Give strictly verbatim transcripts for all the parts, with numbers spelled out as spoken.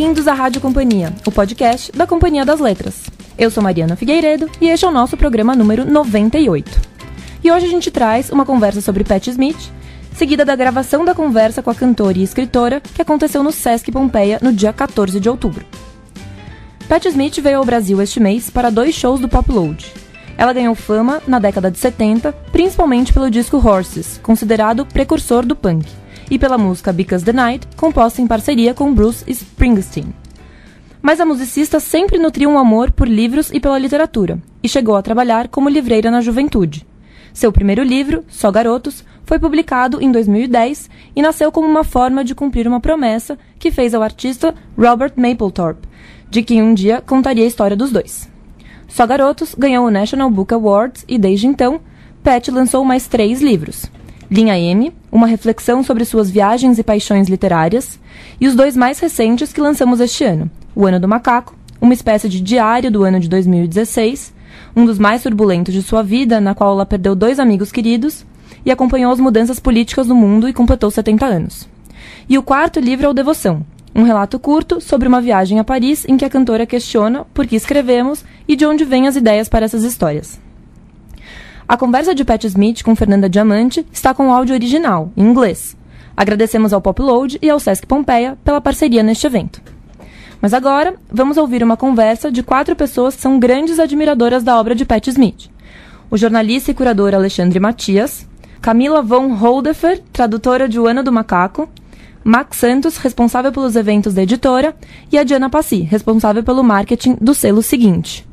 Bem-vindos à Rádio Companhia, o podcast da Companhia das Letras. Eu sou Mariana Figueiredo e este é o nosso programa número noventa e oito. E hoje a gente traz uma conversa sobre Patti Smith, seguida da gravação da conversa com a cantora e escritora que aconteceu no Sesc Pompeia no dia quatorze de outubro. Patti Smith veio ao Brasil este mês para dois shows do Pop Load. Ela ganhou fama na década de setenta, principalmente pelo disco Horses, considerado precursor do punk, e pela música Because the Night, composta em parceria com Bruce Springsteen. Mas a musicista sempre nutriu um amor por livros e pela literatura, e chegou a trabalhar como livreira na juventude. Seu primeiro livro, Só Garotos, foi publicado em dois mil e dez e nasceu como uma forma de cumprir uma promessa que fez ao artista Robert Mapplethorpe, de quem um dia contaria a história dos dois. Só Garotos ganhou o National Book Awards e, desde então, Patti lançou mais três livros. Linha M, uma reflexão sobre suas viagens e paixões literárias, e os dois mais recentes que lançamos este ano, O Ano do Macaco, uma espécie de diário do ano de dois mil e dezesseis, um dos mais turbulentos de sua vida, na qual ela perdeu dois amigos queridos e acompanhou as mudanças políticas no mundo e completou setenta anos. E o quarto livro é o Devoção, um relato curto sobre uma viagem a Paris em que a cantora questiona por que escrevemos e de onde vêm as ideias para essas histórias. A conversa de Patti Smith com Fernanda Diamante está com o áudio original, em inglês. Agradecemos ao Pop Load e ao Sesc Pompeia pela parceria neste evento. Mas agora, vamos ouvir uma conversa de quatro pessoas que são grandes admiradoras da obra de Patti Smith. O jornalista e curador Alexandre Matias, Camila von Holdefer, tradutora de O Ano do Macaco, Max Santos, responsável pelos eventos da editora, e a Diana Passi, responsável pelo marketing do selo Seguinte.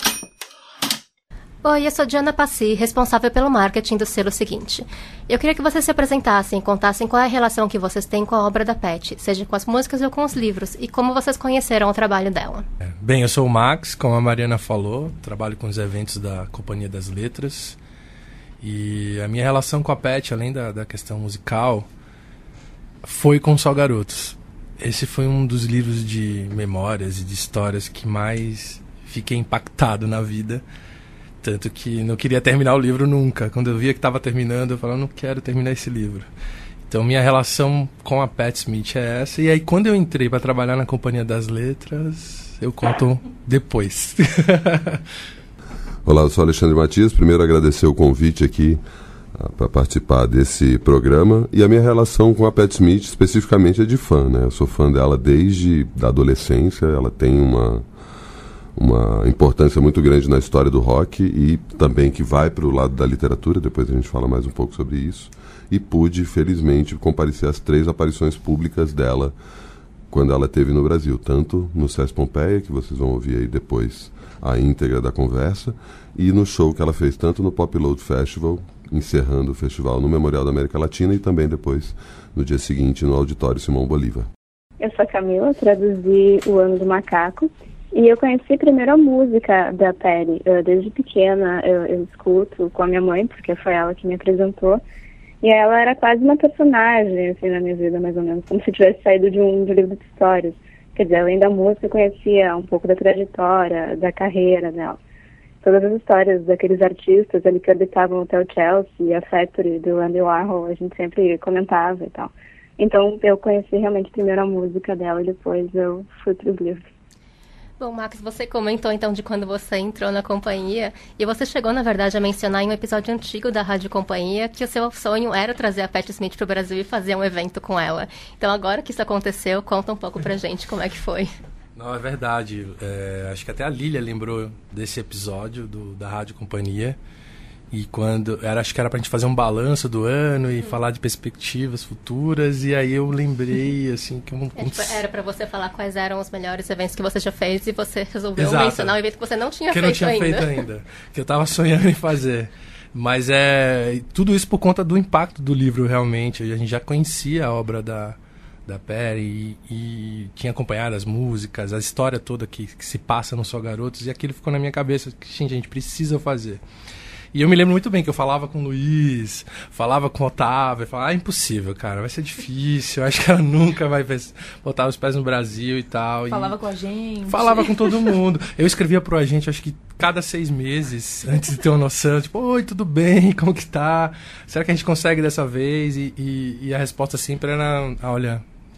Oi, eu sou Diana Passi, responsável pelo marketing do selo Seguinte. Eu queria que vocês se apresentassem e contassem qual é a relação que vocês têm com a obra da Patti, seja com as músicas ou com os livros, e como vocês conheceram o trabalho dela. Bem, eu sou o Max, como a Mariana falou, trabalho com os eventos da Companhia das Letras, e a minha relação com a Patti, além da, da questão musical, foi com Só Garotos. Esse foi um dos livros de memórias e de histórias que mais fiquei impactado na vida. Tanto que não queria terminar o livro nunca. Quando eu via que estava terminando, eu falava, não quero terminar esse livro. Então, minha relação com a Patti Smith é essa. E aí, quando eu entrei para trabalhar na Companhia das Letras, eu conto depois. Olá, eu sou Alexandre Matias. Primeiro, agradecer o convite aqui uh, para participar desse programa. E a minha relação com a Patti Smith, especificamente, é de fã, né? Eu sou fã dela desde a adolescência. Ela tem uma... uma importância muito grande na história do rock e também que vai para o lado da literatura, depois a gente fala mais um pouco sobre isso, e pude, felizmente, comparecer às três aparições públicas dela quando ela esteve no Brasil, tanto no Sesc Pompeia, que vocês vão ouvir aí depois a íntegra da conversa, e no show que ela fez tanto no Pop Load Festival, encerrando o festival no Memorial da América Latina, e também depois, no dia seguinte, no Auditório Simão Bolívar. Eu sou a Camila, traduzi O Ano do Macaco. E eu conheci primeiro a música da Patti. Eu, desde pequena eu, eu escuto com a minha mãe, porque foi ela que me apresentou. E ela era quase uma personagem assim, na minha vida, mais ou menos, como se tivesse saído de um, de um livro de histórias. Quer dizer, além da música, eu conhecia um pouco da trajetória, da carreira dela. Todas as histórias daqueles artistas ali que habitavam o Hotel Chelsea, a Factory do Andy Warhol, a gente sempre comentava e tal. Então eu conheci realmente primeiro a música dela e depois eu fui para os livros. Bom, Max, você comentou então de quando você entrou na companhia e você chegou, na verdade, a mencionar em um episódio antigo da Rádio Companhia que o seu sonho era trazer a Patti Smith para o Brasil e fazer um evento com ela. Então, agora que isso aconteceu, conta um pouco pra gente como é que foi. Não, é verdade. É, acho que até a Lília lembrou desse episódio do, da Rádio Companhia. E quando era, acho que era pra gente fazer um balanço do ano e hum. falar de perspectivas futuras, e aí eu lembrei, assim, que... Um, é, tipo, era pra você falar quais eram os melhores eventos que você já fez e você resolveu Exato. mencionar um evento que você não tinha que feito ainda. Que eu não tinha feito ainda, que eu tava sonhando em fazer. Mas é... tudo isso por conta do impacto do livro, realmente. A gente já conhecia a obra da, da Patti e, e tinha acompanhado as músicas, a história toda que, que se passa no Só Garotos, e aquilo ficou na minha cabeça, que, gente, a gente precisa fazer. E eu me lembro muito bem que eu falava com o Luiz, falava com o Otávio, eu falava, ah, impossível, cara, vai ser difícil, acho que ela nunca vai botar os pés no Brasil e tal. Falava e com a gente. Falava com todo mundo. Eu escrevia pro agente, acho que cada seis meses, antes de ter uma noção, tipo, oi, tudo bem, como que tá? Será que a gente consegue dessa vez? E, e, e a resposta sempre era, ah, olha,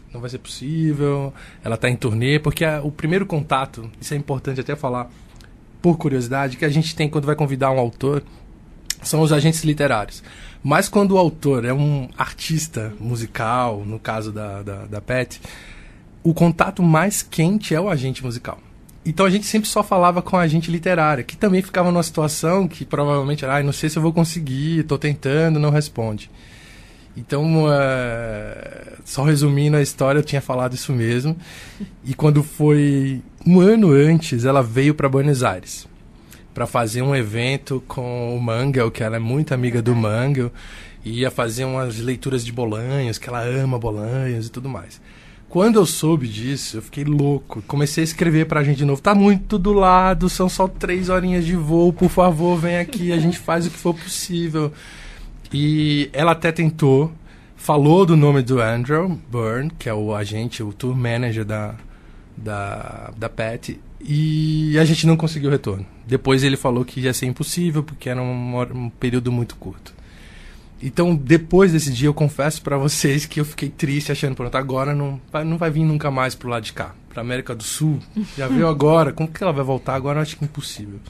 não vai ser possível, ela está em turnê, porque a, o primeiro contato, isso é importante até falar, por curiosidade, que a gente tem quando vai convidar um autor, são os agentes literários. Mas quando o autor é um artista musical, no caso da, da, da Pat, o contato mais quente é o agente musical. Então a gente sempre só falava com a agente literária, que também ficava numa situação que provavelmente era, ah, não sei se eu vou conseguir, estou tentando, não responde. Então, uh, só resumindo a história, eu tinha falado isso mesmo. E quando foi um ano antes, ela veio para Buenos Aires para fazer um evento com o Mangel, que ela é muito amiga do Mangel, e ia fazer umas leituras de Bolanhos, que ela ama Bolanhos e tudo mais. Quando eu soube disso, eu fiquei louco. Comecei a escrever pra gente de novo. Tá muito do lado, são só três horinhas de voo, por favor, vem aqui, a gente faz o que for possível. E ela até tentou, falou do nome do Andrew Byrne, que é o agente, o tour manager da, da, da Pat, e a gente não conseguiu retorno. Depois ele falou que ia ser impossível, porque era um, um período muito curto. Então, depois desse dia, eu confesso pra vocês que eu fiquei triste, achando, pronto, agora não vai, não vai vir nunca mais pro lado de cá, pra América do Sul. Já veio agora, como que ela vai voltar agora? Eu acho que é impossível.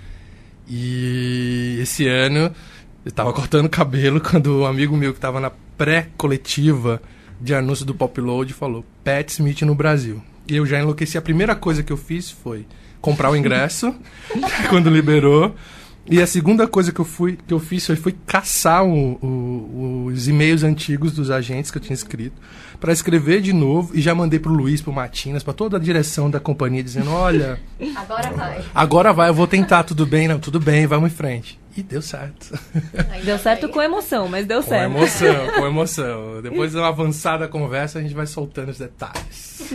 E esse ano, eu tava cortando o cabelo quando um amigo meu que tava na pré-coletiva de anúncio do Popload falou, Pat Smith no Brasil. E eu já enlouqueci. A primeira coisa que eu fiz foi comprar o ingresso, quando liberou. E a segunda coisa que eu, fui, que eu fiz foi, foi caçar o, o, os e-mails antigos dos agentes que eu tinha escrito para escrever de novo, e já mandei pro Luiz, pro Matinas, para toda a direção da companhia, dizendo, olha... Agora vai. Agora vai, eu vou tentar, tudo bem? Não, tudo bem, vamos em frente. E deu certo. Deu certo com emoção, mas deu com certo. Com emoção, com emoção. Depois de uma avançada conversa, a gente vai soltando os detalhes.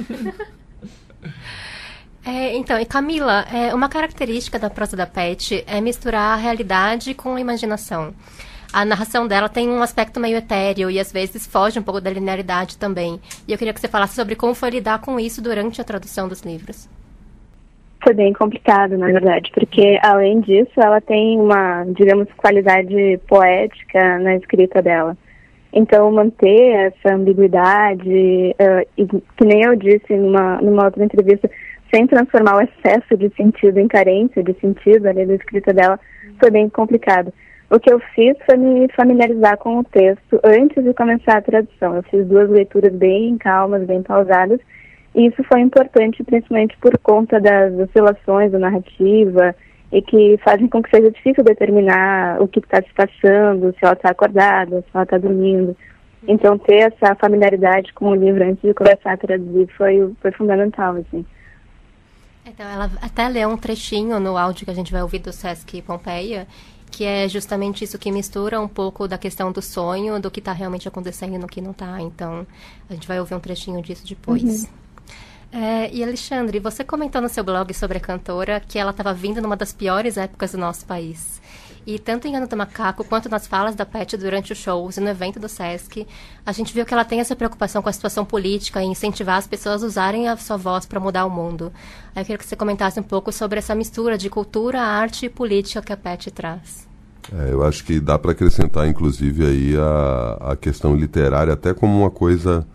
É, então, e Camila, é, uma característica da prosa da Pat é misturar a realidade com a imaginação. A narração dela tem um aspecto meio etéreo e às vezes foge um pouco da linearidade também. E eu queria que você falasse sobre como foi lidar com isso durante a tradução dos livros. Foi bem complicado, na verdade, porque além disso ela tem uma, digamos, qualidade poética na escrita dela. Então, manter essa ambiguidade, uh, e, que nem eu disse numa, numa outra entrevista, sem transformar o excesso de sentido em carência de sentido ali da escrita dela, foi bem complicado. O que eu fiz foi me familiarizar com o texto antes de começar a tradução. Eu fiz duas leituras bem calmas, bem pausadas, e isso foi importante principalmente por conta das oscilações da narrativa e que fazem com que seja difícil determinar o que está se passando, se ela está acordada, se ela está dormindo. Então, ter essa familiaridade com o livro antes de começar a traduzir foi, foi fundamental, assim. Então, ela até leu um trechinho no áudio que a gente vai ouvir do Sesc Pompeia, que é justamente isso que mistura um pouco da questão do sonho, do que está realmente acontecendo e no que não está. Então, a gente vai ouvir um trechinho disso depois. Uhum. É, e, Alexandre, você comentou no seu blog sobre a cantora que ela estava vindo numa das piores épocas do nosso país. E tanto em Ano do Macaco, quanto nas falas da Pat durante os shows e no evento do Sesc, a gente viu que ela tem essa preocupação com a situação política e incentivar as pessoas a usarem a sua voz para mudar o mundo. Aí eu queria que você comentasse um pouco sobre essa mistura de cultura, arte e política que a Pat traz. É, eu acho que dá para acrescentar, inclusive, aí a, a questão literária até como uma coisa,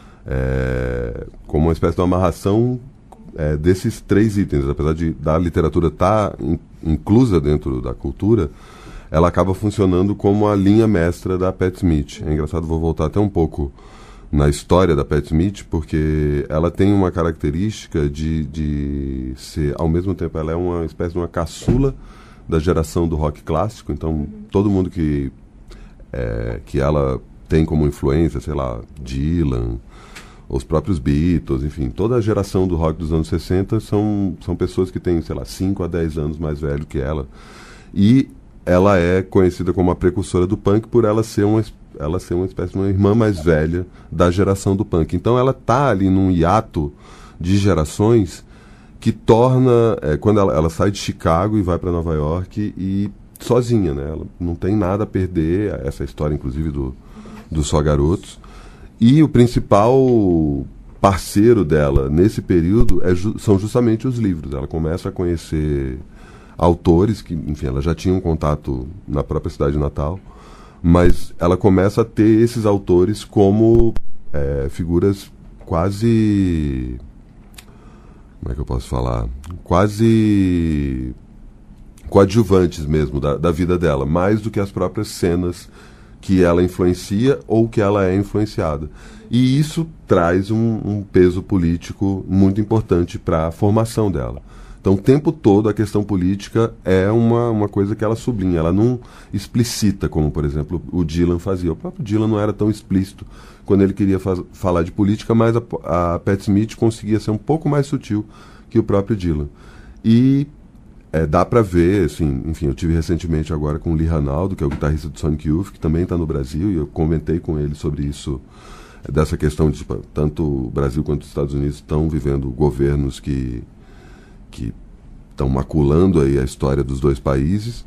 é, como uma espécie de amarração é, desses três itens. Apesar de da literatura estar in, inclusa dentro da cultura, ela acaba funcionando como a linha mestra da Pat Smith. É engraçado, vou voltar até um pouco na história da Pat Smith, porque ela tem uma característica de, de ser, ao mesmo tempo, ela é uma espécie de uma caçula da geração do rock clássico. Então, uhum. todo mundo que, é, que ela tem como influência, sei lá, Dylan, os próprios Beatles, enfim, toda a geração do rock dos anos sessenta são, são pessoas que têm, sei lá, cinco a dez anos mais velho que ela. E ela é conhecida como a precursora do punk por ela ser uma, ela ser uma espécie de uma irmã mais velha da geração do punk. Então ela está ali num hiato de gerações que torna, é, quando ela, ela sai de Chicago e vai para Nova York e sozinha, né? Ela não tem nada a perder, essa história inclusive do, do Só Garotos. E o principal parceiro dela nesse período é ju- são justamente os livros. Ela começa a conhecer autores que, enfim, ela já tinha um contato na própria cidade de Natal, mas ela começa a ter esses autores como é, figuras quase... Como é que eu posso falar? Quase coadjuvantes mesmo da, da vida dela, mais do que as próprias cenas que ela influencia ou que ela é influenciada. E isso traz um, um peso político muito importante para a formação dela. Então, o tempo todo, a questão política é uma, uma coisa que ela sublinha. Ela não explicita, como, por exemplo, o Dylan fazia. O próprio Dylan não era tão explícito quando ele queria faz, falar de política, mas a, a Patti Smith conseguia ser um pouco mais sutil que o próprio Dylan. E é, dá para ver, assim, enfim, eu tive recentemente agora com o Lee Ranaldo, que é o guitarrista do Sonic Youth, que também está no Brasil, e eu comentei com ele sobre isso, dessa questão de, tipo, tanto o Brasil quanto os Estados Unidos estão vivendo governos que que estão maculando aí a história dos dois países,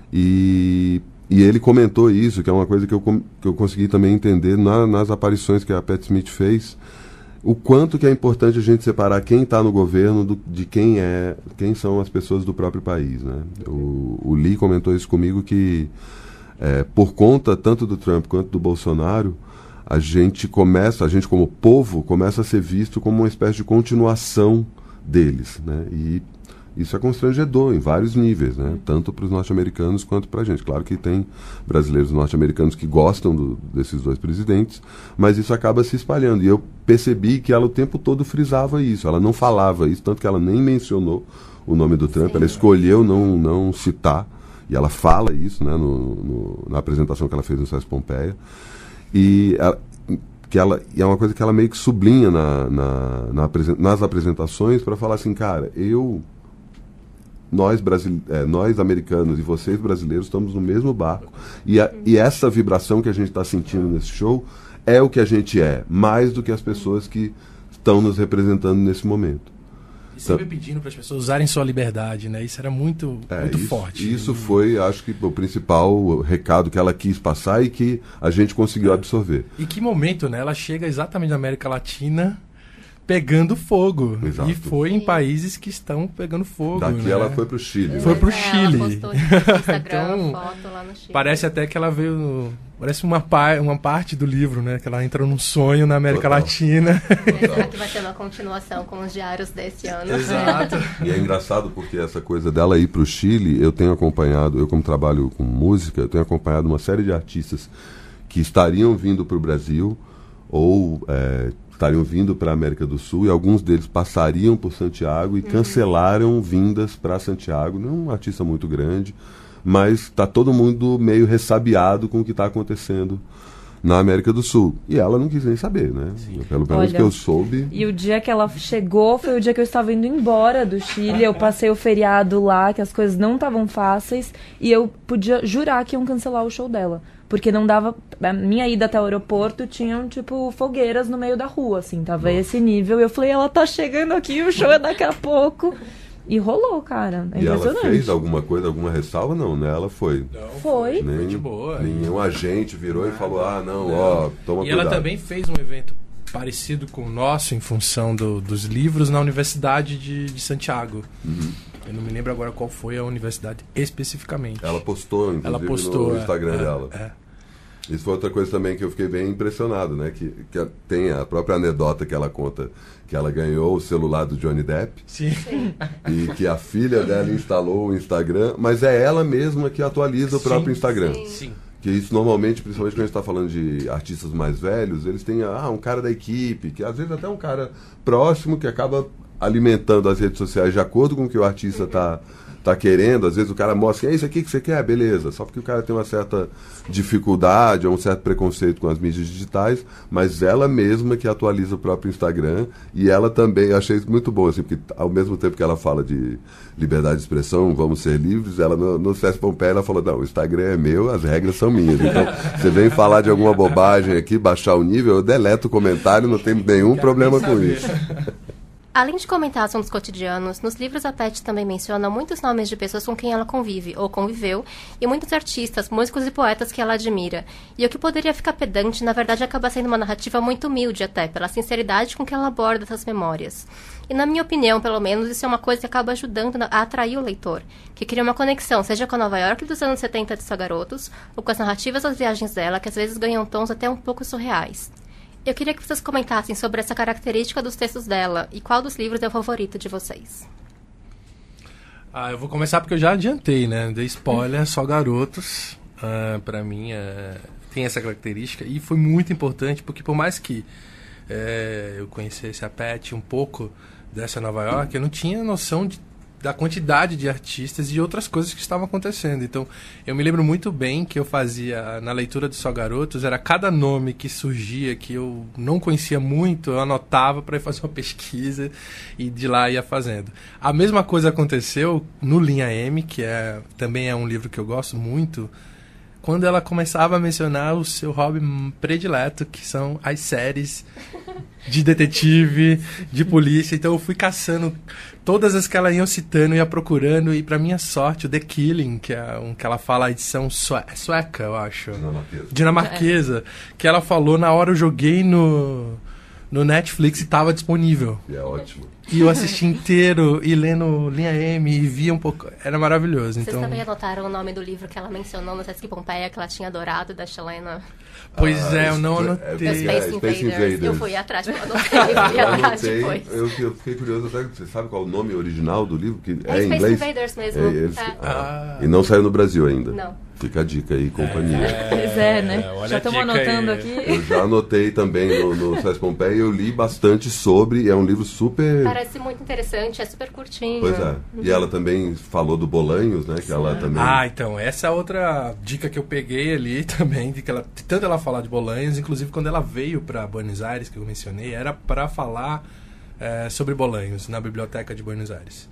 e, e ele comentou isso, que é uma coisa que eu, que eu consegui também entender na, nas aparições que a Patti Smith fez, o quanto que é importante a gente separar quem está no governo do, de quem é, quem são as pessoas do próprio país, né? O, o Lee comentou isso comigo, que é, por conta tanto do Trump quanto do Bolsonaro, a gente começa, a gente como povo, começa a ser visto como uma espécie de continuação deles, né? E isso é constrangedor em vários níveis, né? Tanto para os norte-americanos quanto para a gente. Claro que tem brasileiros norte-americanos que gostam do, desses dois presidentes, mas isso acaba se espalhando. E eu percebi que ela o tempo todo frisava isso. Ela não falava isso, tanto que ela nem mencionou o nome do Trump. Sim. Ela escolheu não, não citar, e ela fala isso, né, no, no, na apresentação que ela fez no César Pompeia. E ela, que ela, e é uma coisa que ela meio que sublinha na, na, na, nas apresentações, para falar assim, cara, eu, nós, brasile, é, nós americanos e vocês brasileiros estamos no mesmo barco, e, a, e essa vibração que a gente está sentindo nesse show é o que a gente é, mais do que as pessoas que estão nos representando nesse momento. E sempre pedindo para as pessoas usarem sua liberdade, né? Isso era muito, é, muito isso, forte. Isso foi, acho que, o principal recado que ela quis passar e que a gente conseguiu é. absorver. E que momento, né? Ela chega exatamente na América Latina pegando fogo. Exato. E foi em países que estão pegando fogo. Daqui né? ela foi pro Chile. Foi pro é, Chile. Ela postou no Instagram, então, foto lá no Chile. Parece até que ela veio... No, parece uma, par, uma parte do livro, né? Que ela entrou num sonho na América Total. Latina. É, será que vai ter uma continuação com os diários desse ano? Exato. E é engraçado porque essa coisa dela ir pro Chile, eu tenho acompanhado, eu como trabalho com música, eu tenho acompanhado uma série de artistas que estariam vindo pro Brasil ou... É, estariam vindo para a América do Sul, e alguns deles passariam por Santiago e uhum. cancelaram vindas para Santiago. Não é um artista muito grande, mas está todo mundo meio ressabiado com o que está acontecendo na América do Sul. E ela não quis nem saber, né? Sim. Pelo menos que eu soube. E o dia que ela chegou foi o dia que eu estava indo embora do Chile. Eu passei o feriado lá, que as coisas não estavam fáceis, e eu podia jurar que iam cancelar o show dela. Porque não dava... A minha ida até o aeroporto tinham, tipo, fogueiras no meio da rua, assim. Tava Nossa. esse nível. E eu falei, ela tá chegando aqui, o show é daqui a pouco. E rolou, cara. É e impressionante. Ela fez alguma coisa, alguma ressalva? Não, né? Ela foi. Não, foi. Nem, foi de boa. Nenhum agente virou ah, e falou, ah, não, não. ó, toma e cuidado. E ela também fez um evento parecido com o nosso, em função do, dos livros, na Universidade de, de Santiago. Uhum. Eu não me lembro agora qual foi a universidade especificamente. Ela postou, inclusive, ela postou, no Instagram é, dela. É. Isso foi outra coisa também que eu fiquei bem impressionado, né? Que, que tem a própria anedota que ela conta, que ela ganhou o celular do Johnny Depp. Sim. E que a filha dela instalou o Instagram, mas é ela mesma que atualiza o sim, próprio Instagram. Sim. Sim. Que isso normalmente, principalmente quando a gente está falando de artistas mais velhos, eles têm ah, um cara da equipe, que às vezes até um cara próximo que acaba alimentando as redes sociais de acordo com o que o artista está tá querendo. Às vezes o cara mostra, é isso aqui que você quer, beleza. Só porque o cara tem uma certa dificuldade ou um certo preconceito com as mídias digitais, mas ela mesma que atualiza o próprio Instagram. E ela também, eu achei isso muito bom, assim, porque ao mesmo tempo que ela fala de liberdade de expressão, vamos ser livres, ela no, no César Pompeia, ela falou, não, o Instagram é meu, as regras são minhas. Então, você vem falar de alguma bobagem aqui, baixar o nível, eu deleto o comentário, não tem nenhum problema com isso. Além de comentar assuntos cotidianos, nos livros a Patti também menciona muitos nomes de pessoas com quem ela convive ou conviveu e muitos artistas, músicos e poetas que ela admira. E o que poderia ficar pedante, na verdade, acaba sendo uma narrativa muito humilde até, pela sinceridade com que ela aborda essas memórias. E na minha opinião, pelo menos, isso é uma coisa que acaba ajudando a atrair o leitor, que cria uma conexão, seja com a Nova York dos anos setenta de Só Garotos, ou com as narrativas das viagens dela, que às vezes ganham tons até um pouco surreais. Eu queria que vocês comentassem sobre essa característica dos textos dela e qual dos livros é o favorito de vocês. Ah, eu vou começar porque eu já adiantei, né? Dei spoiler, Só Garotos. Uh, pra mim, uh, tem essa característica. E foi muito importante porque por mais que uh, eu conhecesse a Pat um pouco dessa Nova York, eu não tinha noção de, da quantidade de artistas e outras coisas que estavam acontecendo. Então, eu me lembro muito bem que eu fazia, na leitura de Só Garotos, era cada nome que surgia, que eu não conhecia muito, eu anotava para fazer uma pesquisa e de lá ia fazendo. A mesma coisa aconteceu no Linha M, que é, também é um livro que eu gosto muito, quando ela começava a mencionar o seu hobby predileto, que são as séries de detetive, de polícia. Então eu fui caçando todas as que ela ia citando, ia procurando, e pra minha sorte, o The Killing, que é um que ela fala a edição sue sueca, eu acho. Dinamarquesa. Dinamarquesa. Que ela falou, na hora eu joguei no, no Netflix e estava disponível. E é ótimo. E eu assisti inteiro, e lendo Linha M, e via um pouco... Era maravilhoso. Vocês então... também anotaram o nome do livro que ela mencionou no Sesc Pompeia, que ela tinha adorado, da Chilena? Pois Ah, é, eu não é- anotei. é- Space, é, Space Invaders. Invaders. Eu fui atrás, eu anotei, eu fui Eu atrás anotei, depois. eu, eu fiquei curioso até, você sabe qual é o nome original do livro? Que É é em Space inglês? Invaders mesmo. É, eles- É. ah, e não saiu no Brasil ainda. Não. Fica a dica aí, companhia. Pois é, né? olha Já a estamos dica anotando aí. aqui. Eu já anotei também no, no Sesc Pompeia e eu li bastante sobre, é um livro super... Parece muito interessante, é super curtinho. Pois é. E ela também falou do Bolanhos, né? Que ela também... Ah, então, essa é outra dica que eu peguei ali também, de que ela, de tanto ela falar de Bolanhos, inclusive quando ela veio para Buenos Aires, que eu mencionei, era para falar é, sobre Bolanhos, na Biblioteca de Buenos Aires.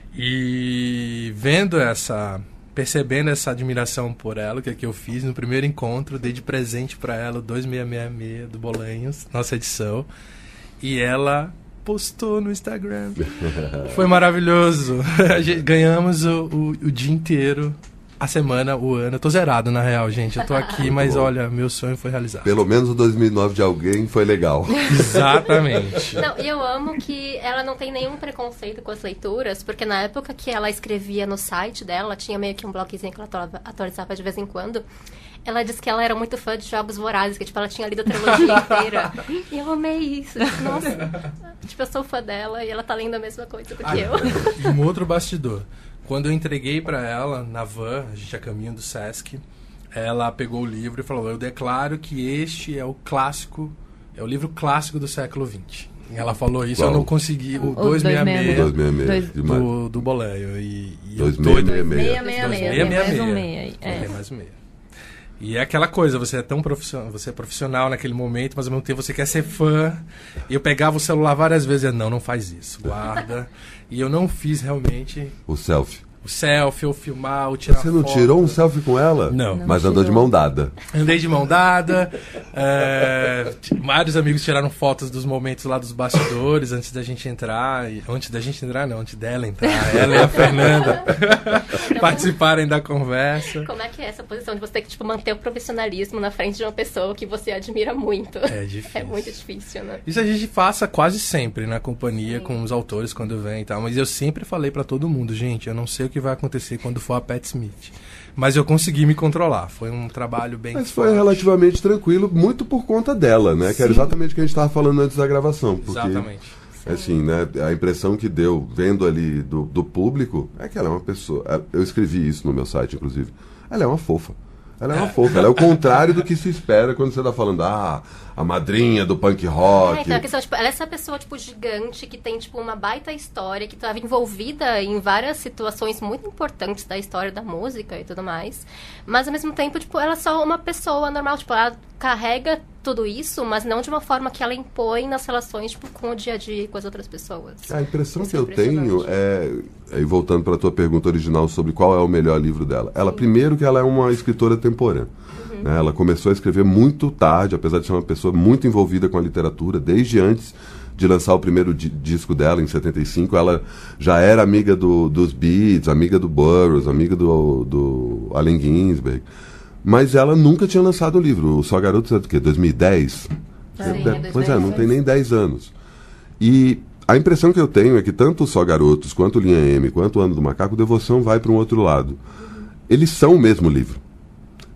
E vendo essa... percebendo essa admiração por ela, que é que eu fiz no primeiro encontro, dei de presente para ela o dois seis seis seis do Bolanhos, nossa edição, e ela postou no Instagram. Foi maravilhoso. A gente- Ganhamos o, o, o dia inteiro, a semana, o ano. Eu tô zerado, na real, gente. Eu tô aqui, mas bom. olha, meu sonho foi realizado. Pelo menos o dois mil e nove de alguém foi legal. Exatamente. Não, e eu amo que ela não tem nenhum preconceito com as leituras, porque na época que ela escrevia no site dela, tinha meio que um blogzinho que ela atualizava- atualizava de vez em quando, ela disse que ela era muito fã de Jogos Vorazes, que tipo, ela tinha lido a trilogia inteira. E eu amei isso. Tipo, nossa, tipo, eu sou fã dela e ela tá lendo a mesma coisa do que eu. E um outro bastidor. Quando eu entreguei para ela, na van, a gente a caminho do Sesc, ela pegou o livro e falou, eu declaro que este é o clássico, é o livro clássico do século vinte. E ela falou isso, Qual? eu não consegui, o O dois seis seis dois seis seis Dois- demais. do, do Bolanho. E, e eu dois tô- seis seis seis. Meia, meia, meia. Tem mais um meia aí. É. É. mais um meia. E é aquela coisa, você é tão profissional, você é profissional naquele momento, mas ao mesmo tempo você quer ser fã. E eu pegava o celular várias vezes e eu, não, não faz isso, guarda. E eu não fiz realmente O selfie. o selfie, ou filmar, ou tirar Você não foto. tirou um selfie com ela? Não. Mas andou de mão dada. Andei de mão dada. é, t- vários amigos tiraram fotos dos momentos lá dos bastidores antes da gente entrar. E, antes da gente entrar, não, antes dela entrar. Ela e a Fernanda participarem da conversa. Como é que é essa posição de você ter que tipo, manter o profissionalismo na frente de uma pessoa que você admira muito? É difícil. É muito difícil, né? Isso a gente passa quase sempre na companhia com os autores quando vem e tal. Mas eu sempre falei pra todo mundo, gente, eu não sei o que vai acontecer quando for a Pat Smith. Mas eu consegui me controlar. Foi um trabalho bem Mas foi forte. relativamente tranquilo, muito por conta dela, né? Que era exatamente o que a gente estava falando antes da gravação. Porque, Exatamente. assim, né? A impressão que deu, vendo ali do, do público, é que ela é uma pessoa... Eu escrevi isso no meu site, inclusive. Ela é uma fofa. Ela é uma fofa. Ela é o contrário do que se espera quando você está falando, ah, a madrinha do punk rock. É, então, a questão, tipo, ela é essa pessoa, tipo, gigante, que tem, tipo, uma baita história, que estava envolvida em várias situações muito importantes da história da música e tudo mais. Mas, ao mesmo tempo, tipo, ela é só uma pessoa normal, tipo, ela carrega tudo isso, mas não de uma forma que ela impõe nas relações, tipo, com o dia a dia e com as outras pessoas. A impressão Isso que é eu tenho é, aí voltando para a tua pergunta original sobre qual é o melhor livro dela. Ela, primeiro, que ela é uma escritora temporânea. Uhum. Né? Ela começou a escrever muito tarde, apesar de ser uma pessoa muito envolvida com a literatura, desde antes de lançar o primeiro di- disco dela, em setenta e cinco, ela já era amiga do, dos Beats, amiga do Burroughs, amiga do, do Allen Ginsberg. Mas ela nunca tinha lançado o livro. O Só Garotos é do quê? dois mil e dez? Sim, É, é pois é, não dois mil e dez. tem nem dez anos. E a impressão que eu tenho é que tanto o Só Garotos, quanto o Linha M, quanto o Ano do Macaco, Devoção vai para um outro lado. Eles são o mesmo livro.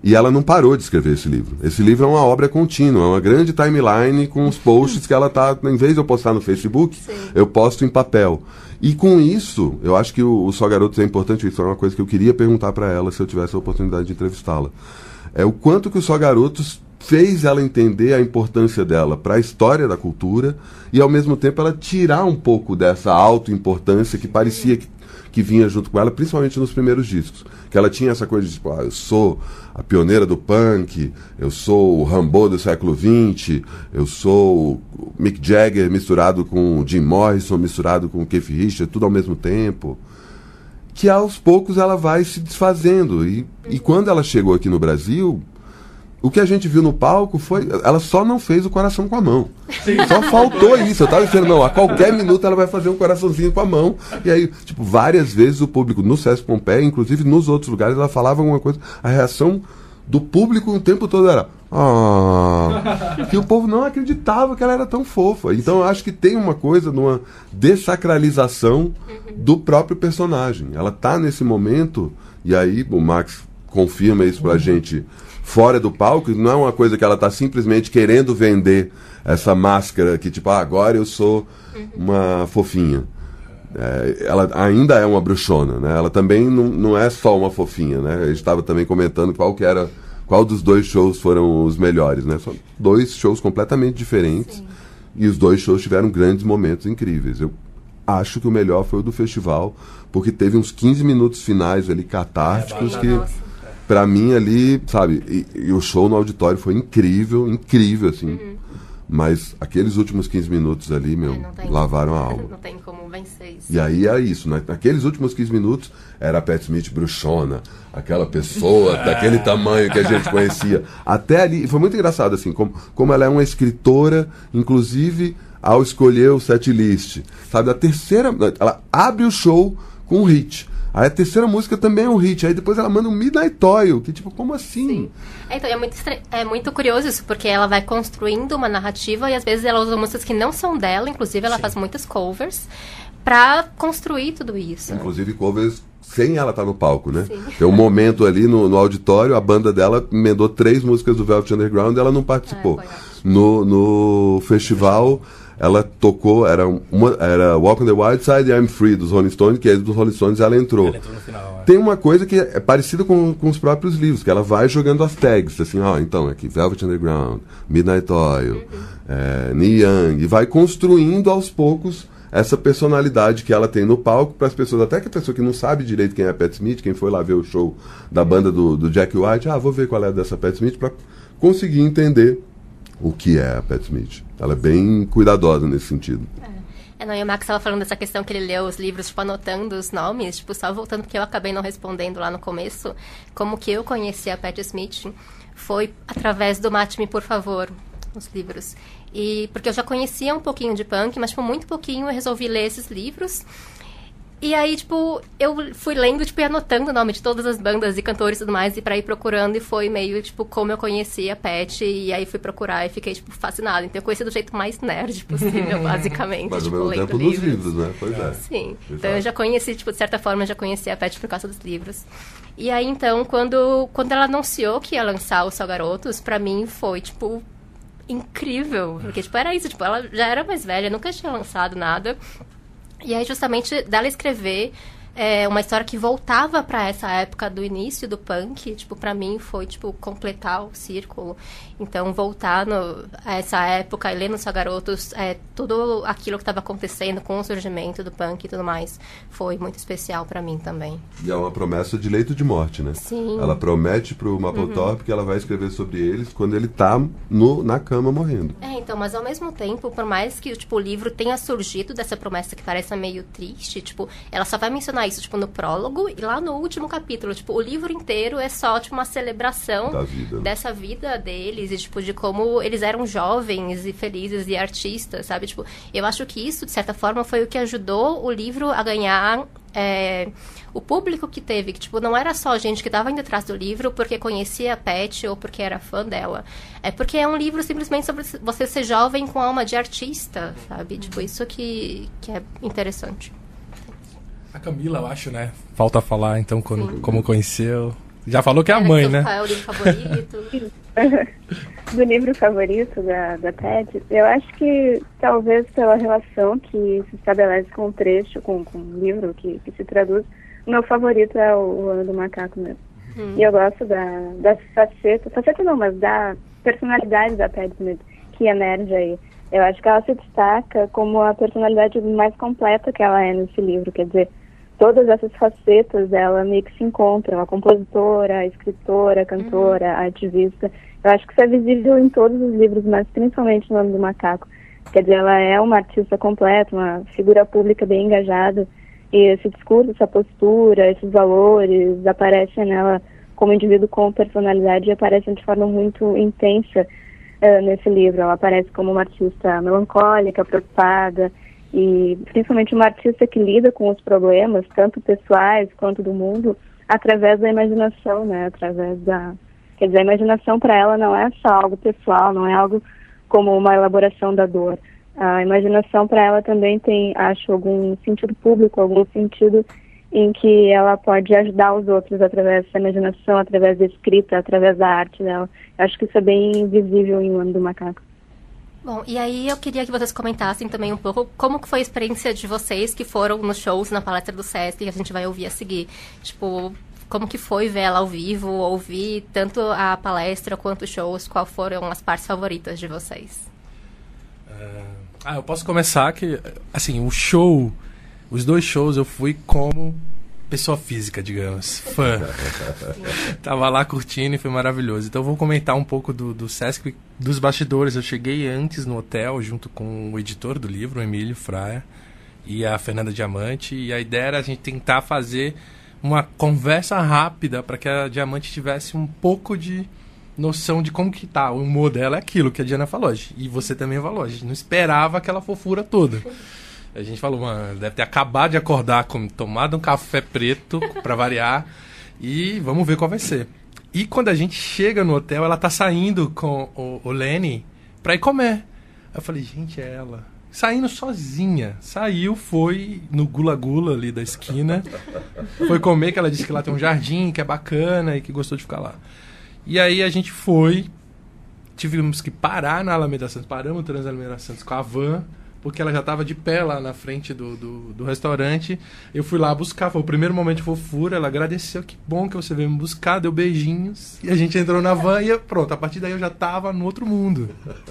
E ela não parou de escrever esse livro. Esse livro é uma obra contínua, é uma grande timeline com os posts que ela tá, em vez de eu postar no Facebook, Sim. eu posto em papel. E com isso, eu acho que o, o Só Garotos é importante, isso é uma coisa que eu queria perguntar para ela se eu tivesse a oportunidade de entrevistá-la. É o quanto que o Só Garotos fez ela entender a importância dela para a história da cultura e, ao mesmo tempo, ela tirar um pouco dessa autoimportância que parecia que, que vinha junto com ela, principalmente nos primeiros discos. Que ela tinha essa coisa de, tipo, ah, eu sou a pioneira do punk, eu sou o Rambo do século vinte, eu sou o Mick Jagger misturado com o Jim Morrison, misturado com o Keith Richards, tudo ao mesmo tempo. Que aos poucos ela vai se desfazendo. E, e quando ela chegou aqui no Brasil, o que a gente viu no palco foi... Ela só não fez o coração com a mão. Sim. Só faltou isso. Eu tava dizendo, não, a qualquer minuto ela vai fazer um coraçãozinho com a mão. E aí, tipo, várias vezes o público, no Sesc Pompeia, inclusive nos outros lugares, ela falava alguma coisa. A reação do público o tempo todo era... Ah, que o povo não acreditava que ela era tão fofa. Então eu acho que tem uma coisa numa dessacralização do próprio personagem. Ela tá nesse momento, e aí o Max confirma isso pra gente fora do palco, não é uma coisa que ela tá simplesmente querendo vender essa máscara que tipo, ah, agora eu sou uma fofinha. É, ela ainda é uma bruxona, né? Ela também não, não é só uma fofinha, né? A gente estava também comentando qual que era, qual dos dois shows foram os melhores, né? São dois shows completamente diferentes. Sim. E os dois shows tiveram grandes momentos incríveis. Eu acho que o melhor foi o do festival, porque teve uns quinze minutos finais ali catárticos é, que, pra mim ali, sabe, e, e o show no auditório foi incrível, incrível, assim. Uhum. Mas aqueles últimos quinze minutos ali, meu, é, lavaram como, a alma. Não tem como vencer isso. E aí é isso, né? Naqueles últimos quinze minutos era a Pat Smith bruxona, aquela pessoa daquele tamanho que a gente conhecia. Até ali, foi muito engraçado, assim, como, como ela é uma escritora, inclusive ao escolher o setlist. Sabe, a terceira, ela abre o show com um hit. Aí a terceira música também é um hit. Aí depois ela manda um Midnight Oil, que tipo, como assim? Sim. É, então, é muito, estra... é muito curioso isso, porque ela vai construindo uma narrativa e às vezes ela usa músicas que não são dela, inclusive ela Sim. faz muitas covers, pra construir tudo isso. Inclusive covers sem ela estar no palco, né? Sim. Tem um momento ali no, no auditório, a banda dela emendou três músicas do Velvet Underground e ela não participou. É, no, no festival... Ela tocou, era, uma, era Walk on the Wild Side e I'm Free, dos Rolling Stones, que é dos Rolling Stones, ela entrou. Ela entrou no final, é. Tem uma coisa que é parecida com, com os próprios livros, que ela vai jogando as tags, assim, ó, então, aqui, Velvet Underground, Midnight Oil, uhum. é, Neil Young, e vai construindo aos poucos essa personalidade que ela tem no palco para as pessoas, até que a pessoa que não sabe direito quem é a Pat Smith, quem foi lá ver o show da banda do, do Jack White, ah, vou ver qual é dessa Pat Smith, para conseguir entender o que é a Pat Smith. Ela é bem cuidadosa nesse sentido. É, é não, e o Max estava falando dessa questão que ele leu os livros, tipo, anotando os nomes, tipo, só voltando, porque eu acabei não respondendo lá no começo, como que eu conheci a Pat Smith foi através do Mate-me, por favor, os livros. E, porque eu já conhecia um pouquinho de punk, mas, tipo, muito pouquinho eu resolvi ler esses livros. E aí, tipo, eu fui lendo, tipo, e anotando o nome de todas as bandas e cantores e tudo mais, e pra ir procurando, e foi meio, tipo, como eu conhecia a Pat, e aí fui procurar e fiquei, tipo, fascinada. Então eu conheci do jeito mais nerd possível, basicamente. Mas tipo, ao mesmo tempo livros. Dos livros, né? Pois é. Sim. Exato. Então eu já conheci, tipo, de certa forma, eu já conhecia a Pat por causa dos livros. E aí, então, quando, quando ela anunciou que ia lançar o Só Garotos, pra mim foi, tipo, incrível. Porque, tipo, era isso, tipo, ela já era mais velha, nunca tinha lançado nada. E aí, justamente, dela escrever é, uma história que voltava para essa época do início do punk, tipo, para mim foi, tipo, completar o círculo. Então, voltar no, a essa época e ler nos Só Garotos, é, tudo aquilo que estava acontecendo com o surgimento do punk e tudo mais, foi muito especial para mim também. E é uma promessa de leito de morte, né? Sim. Ela promete pro Mapplethorpe uhum. que ela vai escrever sobre eles quando ele tá no, na cama morrendo. É, então, mas ao mesmo tempo, por mais que tipo, o livro tenha surgido dessa promessa que parece meio triste, tipo, ela só vai mencionar isso, tipo, no prólogo e lá no último capítulo. Tipo, o livro inteiro é só, tipo, uma celebração da vida, né? Dessa vida deles e, tipo, de como eles eram jovens e felizes e artistas, sabe? Tipo, eu acho que isso, de certa forma, foi o que ajudou o livro a ganhar é, o público que teve. Que, tipo, não era só gente que estava indo atrás do livro porque conhecia a Pat ou porque era fã dela. É porque é um livro simplesmente sobre você ser jovem com alma de artista, sabe? Tipo, isso que, que é interessante. A Camila, eu acho, né? Falta falar, então, quando, como conheceu. Já falou que é a mãe, né? Qual é o livro favorito? Do livro favorito da, da Pet, eu acho que talvez pela relação que se estabelece com o trecho, com, com o livro que, que se traduz, o meu favorito é o, o Ano do Macaco mesmo. Hum. E eu gosto da, da faceta, faceta não, mas da personalidade da Pet Smith, que emerge aí. Eu acho que ela se destaca como a personalidade mais completa que ela é nesse livro, quer dizer, todas essas facetas dela meio que se encontram, a compositora, a escritora, a cantora, uhum. a ativista. Eu acho que isso é visível em todos os livros, mas principalmente no Ano do Macaco. Quer dizer, ela é uma artista completa, uma figura pública bem engajada, e esse discurso, essa postura, esses valores aparecem nela como indivíduo com personalidade e aparecem de forma muito intensa uh, nesse livro. Ela aparece como uma artista melancólica, preocupada, e principalmente uma artista que lida com os problemas, tanto pessoais quanto do mundo, através da imaginação, né? Através da... Quer dizer, a imaginação para ela não é só algo pessoal, não é algo como uma elaboração da dor. A imaginação para ela também tem, acho, algum sentido público, algum sentido em que ela pode ajudar os outros através dessa imaginação, através da escrita, através da arte dela. Eu acho que isso é bem visível em O Ano do Macaco. Bom, e aí eu queria que vocês comentassem também um pouco como que foi a experiência de vocês que foram nos shows, na palestra do Sesc, que a gente vai ouvir a seguir. Tipo, como que foi ver ela ao vivo, ouvir tanto a palestra quanto os shows, quais foram as partes favoritas de vocês? Uh, ah, eu posso começar que, assim, o show, os dois shows eu fui como pessoa física, digamos, fã. Tava lá curtindo e foi maravilhoso. Então eu vou comentar um pouco do, do Sesc, dos bastidores. Eu cheguei antes no hotel, junto com o editor do livro, o Emílio Fraia, e a Fernanda Diamante, e a ideia era a gente tentar fazer uma conversa rápida para que a Diamante tivesse um pouco de noção de como que tá. O humor dela é aquilo que a Diana falou, e você também falou, a gente não esperava aquela fofura toda. A gente falou, mano, deve ter acabado de acordar, com, tomado um café preto, pra variar, e vamos ver qual vai ser. E quando a gente chega no hotel, ela tá saindo com o, o Lenny pra ir comer. Eu falei, gente, é ela. Saindo sozinha. Saiu, foi no Gula Gula ali da esquina. Foi comer, que ela disse que lá tem um jardim, que é bacana e que gostou de ficar lá. E aí a gente foi, tivemos que parar na Alameda Santos, paramos no Transalameda Santos com a van, porque ela já estava de pé lá na frente do, do, do restaurante. Eu fui lá buscar, foi o primeiro momento de fofura, ela agradeceu, que bom que você veio me buscar, deu beijinhos, e a gente entrou na van e pronto, a partir daí eu já estava no outro mundo.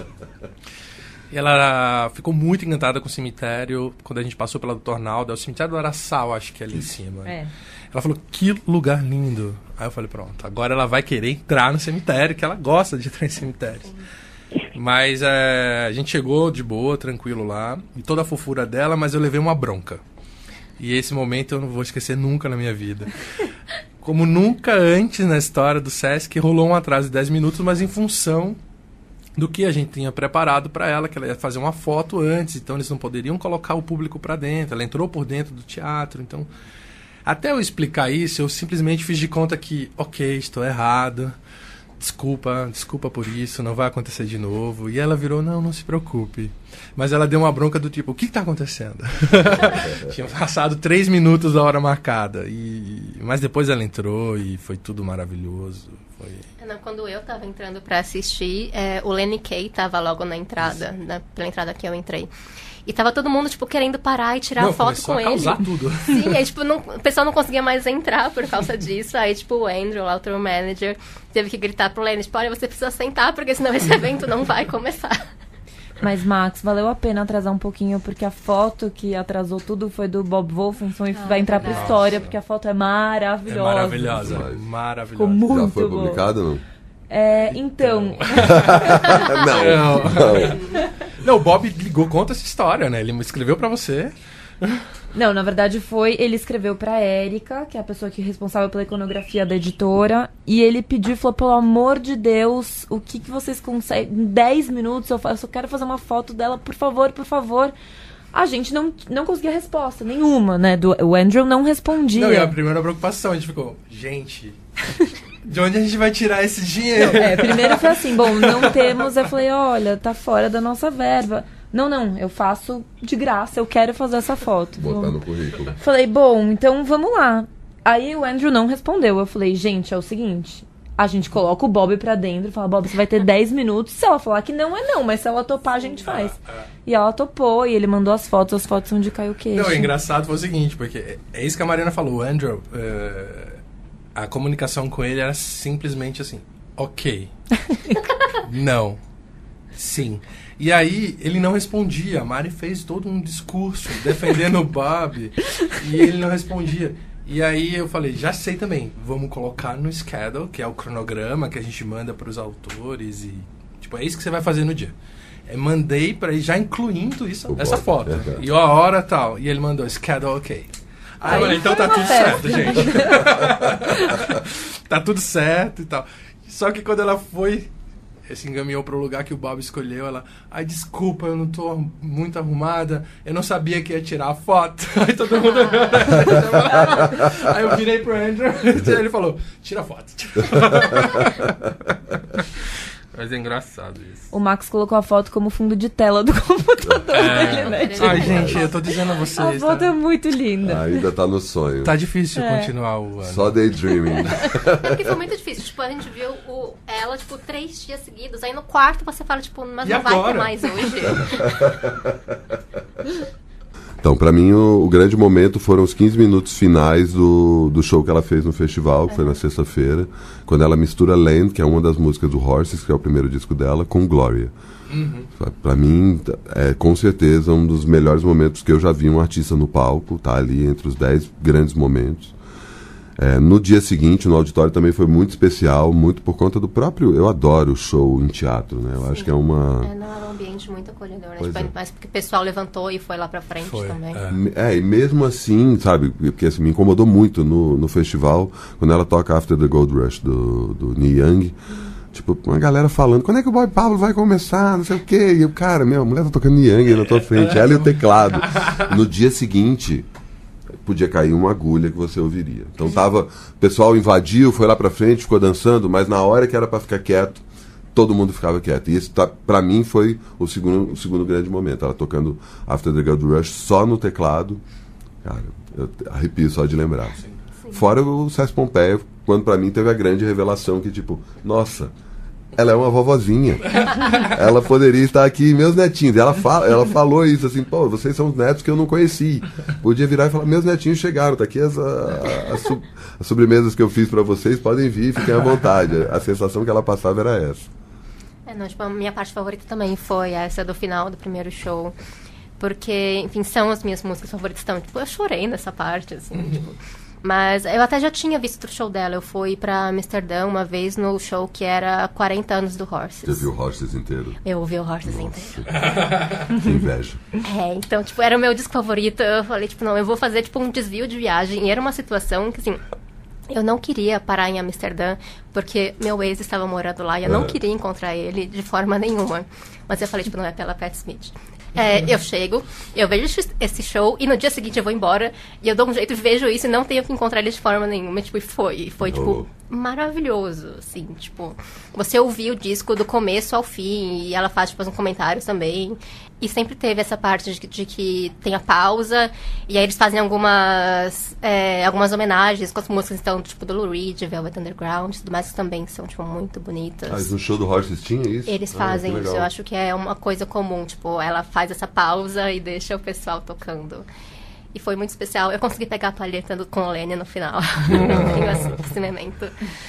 E ela ficou muito encantada com o cemitério, quando a gente passou pela doutor Arnaldo, é o cemitério do Araçal, acho que é ali em cima. É. Ela falou, que lugar lindo. Aí eu falei, pronto, agora ela vai querer entrar no cemitério, que ela gosta de entrar em cemitério. Mas é, a gente chegou de boa, tranquilo lá, e toda a fofura dela, mas eu levei uma bronca. E esse momento eu não vou esquecer nunca na minha vida. Como nunca antes na história do Sesc, rolou um atraso de dez minutos, mas em função do que a gente tinha preparado para ela, que ela ia fazer uma foto antes, então eles não poderiam colocar o público para dentro. Ela entrou por dentro do teatro, então... Até eu explicar isso, eu simplesmente fiz de conta que, ok, estou errado, desculpa, desculpa por isso, não vai acontecer de novo. E ela virou, não, não se preocupe. Mas ela deu uma bronca do tipo, o que está acontecendo? Tinha passado três minutos da hora marcada. E... Mas depois ela entrou e foi tudo maravilhoso. Foi... Não, quando eu estava entrando para assistir, é, o Lenny Kaye estava logo na entrada, na, pela entrada que eu entrei. E tava todo mundo, tipo, querendo parar e tirar não, foto com a ele. Causar tudo. Sim, aí, tipo, não, o pessoal não conseguia mais entrar por causa disso. Aí, tipo, o Andrew, lá, o tour manager, teve que gritar pro Lenny, tipo, olha, você precisa sentar, porque senão esse evento não vai começar. Mas, Max, valeu a pena atrasar um pouquinho, porque a foto que atrasou tudo foi do Bob Wolfenson e ah, vai entrar pra nossa. história, porque a foto é maravilhosa. É maravilhosa, maravilhosa. Ficou muito Já foi boa. publicado ou não? É, então... não, não. Não, o Bob ligou, conta essa história, né? Ele escreveu pra você. Não, na verdade foi... Ele escreveu pra Érica, que é a pessoa que é responsável pela iconografia da editora, e ele pediu, falou, pelo amor de Deus, o que, que vocês conseguem... Em dez minutos, eu, eu só quero fazer uma foto dela, por favor, por favor... A gente não, não conseguia resposta nenhuma, né? Do, o Andrew não respondia. Não, e a primeira preocupação, a gente ficou... Gente... De onde a gente vai tirar esse dinheiro? Não, é, primeiro foi assim, bom, não temos. Eu falei, olha, tá fora da nossa verba. Não, não, eu faço de graça, eu quero fazer essa foto. Botar no currículo. Falei, bom, então vamos lá. Aí o Andrew não respondeu. Eu falei, gente, é o seguinte, a gente coloca o Bob pra dentro e fala, Bob, você vai ter dez minutos. Se ela falar que não, é não, mas se ela topar, a gente faz. Ah, ah. E ela topou, e ele mandou as fotos, as fotos são de Caio Queixo. Não, o engraçado foi o seguinte, porque é isso que a Mariana falou, o Andrew, uh, a comunicação com ele era simplesmente assim, ok, não, sim. E aí, ele não respondia. A Mari fez todo um discurso defendendo o Bob. E ele não respondia. E aí eu falei, já sei também. Vamos colocar no schedule, que é o cronograma que a gente manda para os autores. E tipo, é isso que você vai fazer no dia. Eu mandei para ele, já incluindo isso, o essa Bob, foto. É, e a hora tal. E ele mandou, schedule ok. Aí, aí então tá tudo certo, gente. Tá tudo certo e tal. Só que quando ela foi... se encaminhou para o lugar que o Bob escolheu, ela, ai, desculpa, eu não tô muito arrumada, eu não sabia que ia tirar a foto. Aí todo mundo... Aí eu virei pro Andrew e ele falou, tira a foto. Mas é engraçado isso. O Max colocou a foto como fundo de tela do computador é. dele, né? Ai, gente, eu tô dizendo a vocês. A foto tá... é muito linda. Ainda tá no sonho. Tá difícil é. continuar o ano. Só daydreaming. É porque foi muito difícil. Tipo, a gente viu o, ela, tipo, três dias seguidos. Aí no quarto você fala, tipo, mas e não agora? vai ter mais hoje. Então, pra mim, o, o grande momento foram os quinze minutos finais do, do show que ela fez no festival, que é. foi na sexta-feira, quando ela mistura Land, que é uma das músicas do Horses, que é o primeiro disco dela, com Gloria. Uhum. Pra mim, é com certeza um dos melhores momentos que eu já vi um artista no palco, tá ali entre os dez grandes momentos. É, no dia seguinte, no auditório, também foi muito especial, muito por conta do próprio... Eu adoro show em teatro, né? Eu Sim. acho que é uma... É, não, é um ambiente muito acolhedor, né? Tipo, é. Mas porque o pessoal levantou e foi lá pra frente foi, também. É. é, e mesmo assim, sabe, porque assim, me incomodou muito no, no festival, quando ela toca After the Gold Rush, do, do Neil Young, tipo, uma galera falando, quando é que o Bob Paulo vai começar, não sei o quê, e eu, cara, meu, a mulher tá tocando Neil Young na tua frente, ela e o teclado. No dia seguinte... podia cair uma agulha que você ouviria. Então tava, o pessoal invadiu, foi lá pra frente, ficou dançando, mas na hora que era pra ficar quieto, todo mundo ficava quieto. E isso tá, pra mim foi o segundo, o segundo grande momento. Ela tocando After the Gold Rush só no teclado. Cara, eu arrepio só de lembrar. Sim. Sim. Fora o César Pompeia, quando pra mim teve a grande revelação que tipo, nossa, ela é uma vovozinha. Ela poderia estar aqui, meus netinhos. E ela, fala, ela falou isso assim, pô, vocês são os netos que eu não conheci. Podia virar e falar, meus netinhos chegaram, tá aqui as, a, a sub, as sobremesas que eu fiz pra vocês, podem vir, fiquem à vontade. A sensação que ela passava era essa. É, não, tipo, a minha parte favorita também foi essa do final do primeiro show. Porque, enfim, são as minhas músicas favoritas. Então, tipo, eu chorei nessa parte, assim, uhum. tipo... Mas eu até já tinha visto o show dela. Eu fui pra Amsterdã uma vez no show que era quarenta anos do Horses. Você viu o Horses inteiro? Eu ouvi o Horses Nossa. inteiro. Que inveja. É, então, tipo, era o meu disco favorito. Eu falei, tipo, não, eu vou fazer, tipo, um desvio de viagem. E era uma situação que, assim... Eu não queria parar em Amsterdã, porque meu ex estava morando lá e eu é. não queria encontrar ele de forma nenhuma. Mas eu falei, tipo, não é pela Pat Smith. É, eu chego, eu vejo esse show e no dia seguinte eu vou embora e eu dou um jeito, vejo isso e não tenho que encontrar ele de forma nenhuma. Tipo, e foi, foi, tipo, oh. maravilhoso, assim, tipo... Você ouvir o disco do começo ao fim e ela faz, tipo, uns comentários também. E sempre teve essa parte de, de que tem a pausa e aí eles fazem algumas é, algumas homenagens com as músicas, então, tipo, do Lou Reed, Velvet Underground e tudo mais, que também são, tipo, muito bonitas. Ah, no show do Horses tinha isso? Eles fazem ah, isso, eu acho que é uma coisa comum, tipo, ela faz essa pausa e deixa o pessoal tocando. E foi muito especial. Eu consegui pegar a palheta do, com o Lenny no final. Tenho esse momento.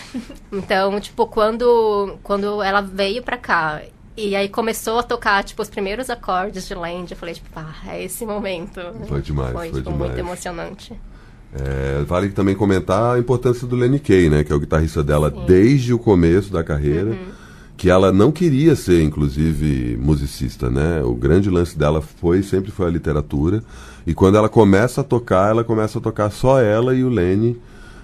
Então, tipo, quando, quando ela veio pra cá e aí começou a tocar, tipo, os primeiros acordes de Land, eu falei, tipo, ah, é esse momento. Foi demais, foi, foi tipo, demais. muito emocionante. É, vale também comentar a importância do Lenny Kaye, né? Que é o guitarrista dela Sim. desde o começo da carreira. Uhum. Que ela não queria ser, inclusive, musicista, né? O grande lance dela foi, sempre foi a literatura. E quando ela começa a tocar, ela começa a tocar só ela e o Lenny,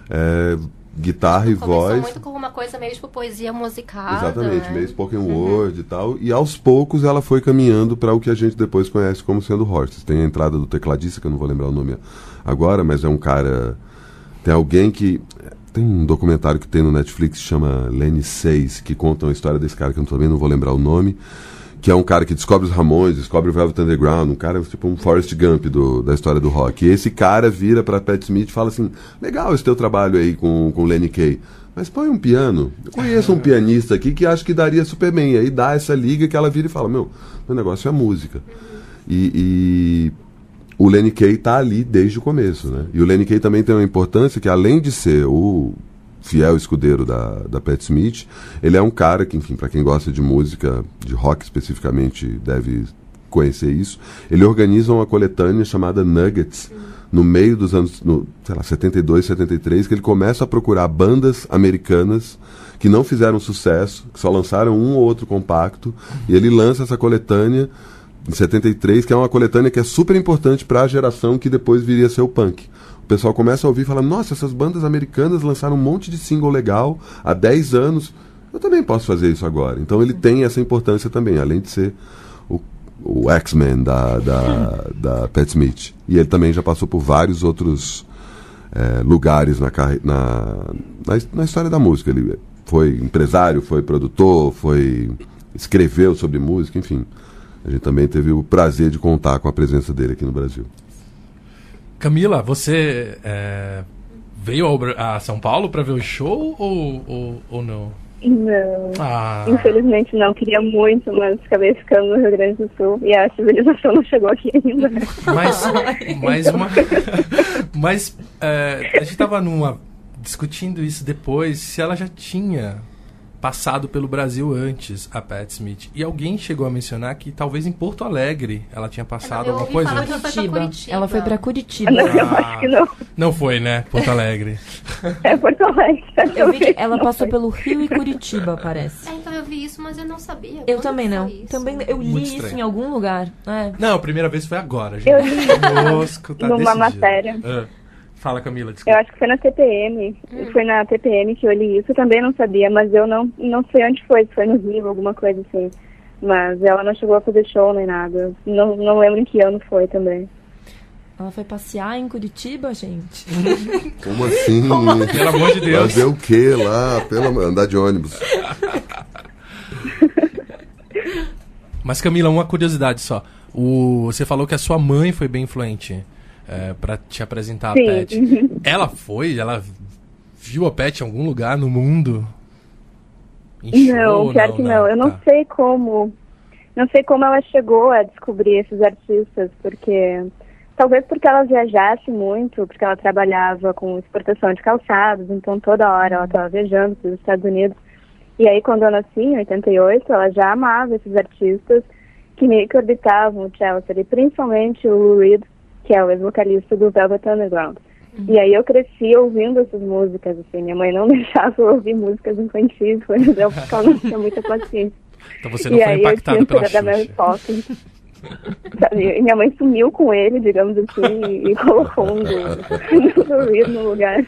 é, guitarra e voz. Começou muito com uma coisa meio, tipo, poesia musical. Exatamente, né? meio spoken word uhum. e tal. E aos poucos ela foi caminhando para o que a gente depois conhece como sendo Horses. Tem a entrada do tecladista, que eu não vou lembrar o nome agora, mas é um cara... Tem alguém que... Tem um documentário que tem no Netflix que chama Lenny seis, que conta a história desse cara, que eu também não vou lembrar o nome, que é um cara que descobre os Ramones, descobre o Velvet Underground, um cara tipo um Forrest Gump do, da história do rock. E esse cara vira pra Pat Smith e fala assim, legal esse teu trabalho aí com o Lenny Kaye, mas põe um piano. Eu conheço um pianista aqui que acho que daria super bem. E aí dá essa liga que ela vira e fala, meu, meu negócio é música. E, e o Lenny Kaye tá ali desde o começo, né? E o Lenny Kaye também tem uma importância que, além de ser o fiel escudeiro da, da Pat Smith, ele é um cara que, enfim, para quem gosta de música, de rock especificamente, deve conhecer isso. Ele organiza uma coletânea chamada Nuggets, no meio dos anos, no, sei lá, setenta e dois, setenta e três, que ele começa a procurar bandas americanas que não fizeram sucesso, que só lançaram um ou outro compacto, e ele lança essa coletânea em setenta e três, que é uma coletânea que é super importante para a geração que depois viria a ser o punk. O pessoal começa a ouvir e fala, nossa, essas bandas americanas lançaram um monte de single legal há dez anos, eu também posso fazer isso agora. Então ele tem essa importância também, além de ser o, o X-Men da, da, da Pat Smith. E ele também já passou por vários outros é, lugares na, na, na, na história da música. Ele foi empresário, foi produtor, foi escreveu sobre música, enfim. A gente também teve o prazer de contar com a presença dele aqui no Brasil. Camila, você é, veio ao, a São Paulo para ver o show ou, ou, ou não? Não, ah. infelizmente não. Queria muito, mas acabei ficando no Rio Grande do Sul e a civilização não chegou aqui ainda. Mas, mas, uma, mas é, a gente estava numa, discutindo isso depois, se ela já tinha passado pelo Brasil antes, a Pat Smith. E alguém chegou a mencionar que talvez em Porto Alegre ela tinha passado eu alguma coisa. Falar que ela, foi pra Curitiba. Ela foi pra Curitiba. Não, ah, eu acho que não. Não foi, né? Porto Alegre. É Porto Alegre. Eu vi que ela passou pelo Rio e Curitiba, parece. É, então eu vi isso, mas eu não sabia. Eu Quando também não. isso? Também eu li Muito isso estranho. em algum lugar. É. Não, a primeira vez foi agora, gente. Eu li Conosco, tá numa decidido. matéria. Ah, fala, Camila, Eu desculpa. acho que foi na T P M. Hum. Foi na T P M que eu li isso. Eu também não sabia, mas eu não, não sei onde foi. Se foi no Rio, alguma coisa assim. Mas ela não chegou a fazer show nem nada. Não, não lembro em que ano foi também. Ela foi passear em Curitiba, gente. Como assim? Pelo amor de Deus. Fazer o quê lá? Pelo... Andar de ônibus. Mas, Camila, uma curiosidade só. O, você falou que a sua mãe foi bem influente é, para te apresentar Sim. a Pat. Ela foi? Ela viu a Pat em algum lugar no mundo? Em show, Não, pior que não. Eu não Tá. sei como. Não sei como ela chegou a descobrir esses artistas, porque talvez porque ela viajasse muito, porque ela trabalhava com exportação de calçados, então toda hora ela estava viajando para os Estados Unidos. E aí quando eu nasci, em oitenta e oito, ela já amava esses artistas que meio que orbitavam o Chelsea, e principalmente o Lou Reed, que é o ex-vocalista do Velvet Underground. Uhum. E aí eu cresci ouvindo essas músicas, assim, minha mãe não deixava eu ouvir músicas infantis, por exemplo, porque ela não tinha muita paciência. Então você não e foi aí impactado eu pela tinha da Mary Xuxa. Poppins. Sabe? E minha mãe sumiu com ele, digamos assim, e, e colocou um do, do Reed no lugar.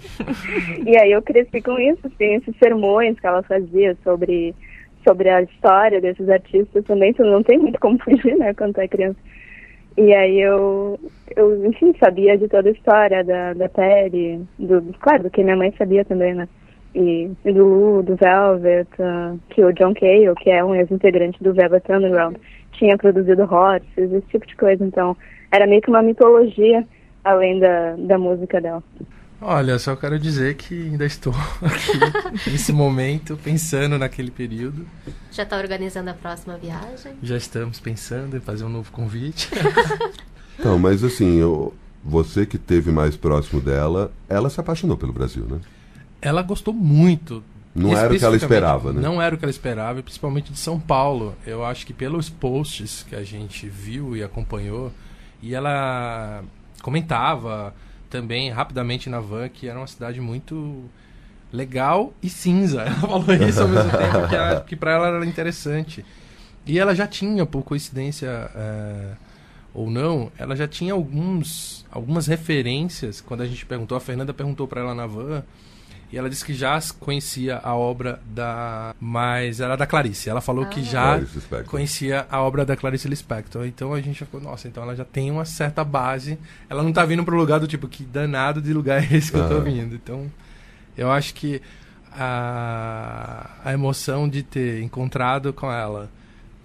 E aí eu cresci com isso, assim, esses sermões que ela fazia sobre, sobre a história desses artistas também, tu não tem muito como fugir, né, quando tu é criança. E aí eu, eu enfim, sabia de toda a história da, da Perry, do, claro, do que minha mãe sabia também, né, e, e do Lu, do Velvet, uh, que o John Cale, que é um ex-integrante do Velvet Underground, tinha produzido Horses, esse tipo de coisa. Então, era meio que uma mitologia, além da, da música dela. Olha, só quero dizer que ainda estou aqui, nesse momento, pensando naquele período. Já está organizando a próxima viagem? Já estamos pensando em fazer um novo convite. Então, mas assim, eu, você que esteve mais próximo dela, ela se apaixonou pelo Brasil, né? Ela gostou muito. Não era o que ela esperava, né? Não era o que ela esperava, principalmente de São Paulo. Eu acho que pelos posts que a gente viu e acompanhou, e ela comentava também rapidamente na van que era uma cidade muito legal e cinza. Ela falou isso ao mesmo tempo, que, ela, que para ela era interessante. E ela já tinha, por coincidência é, ou não, ela já tinha alguns, algumas referências. Quando a gente perguntou, a Fernanda perguntou para ela na van, e ela disse que já conhecia a obra da... Mas era da Clarice. Ela falou ah, que já conhecia a obra da Clarice Lispector. Então a gente já ficou, nossa, então ela já tem uma certa base. Ela não tá vindo pro lugar do tipo, que danado de lugar é esse que ah. eu tô vindo. Então, eu acho que a, a emoção de ter encontrado com ela,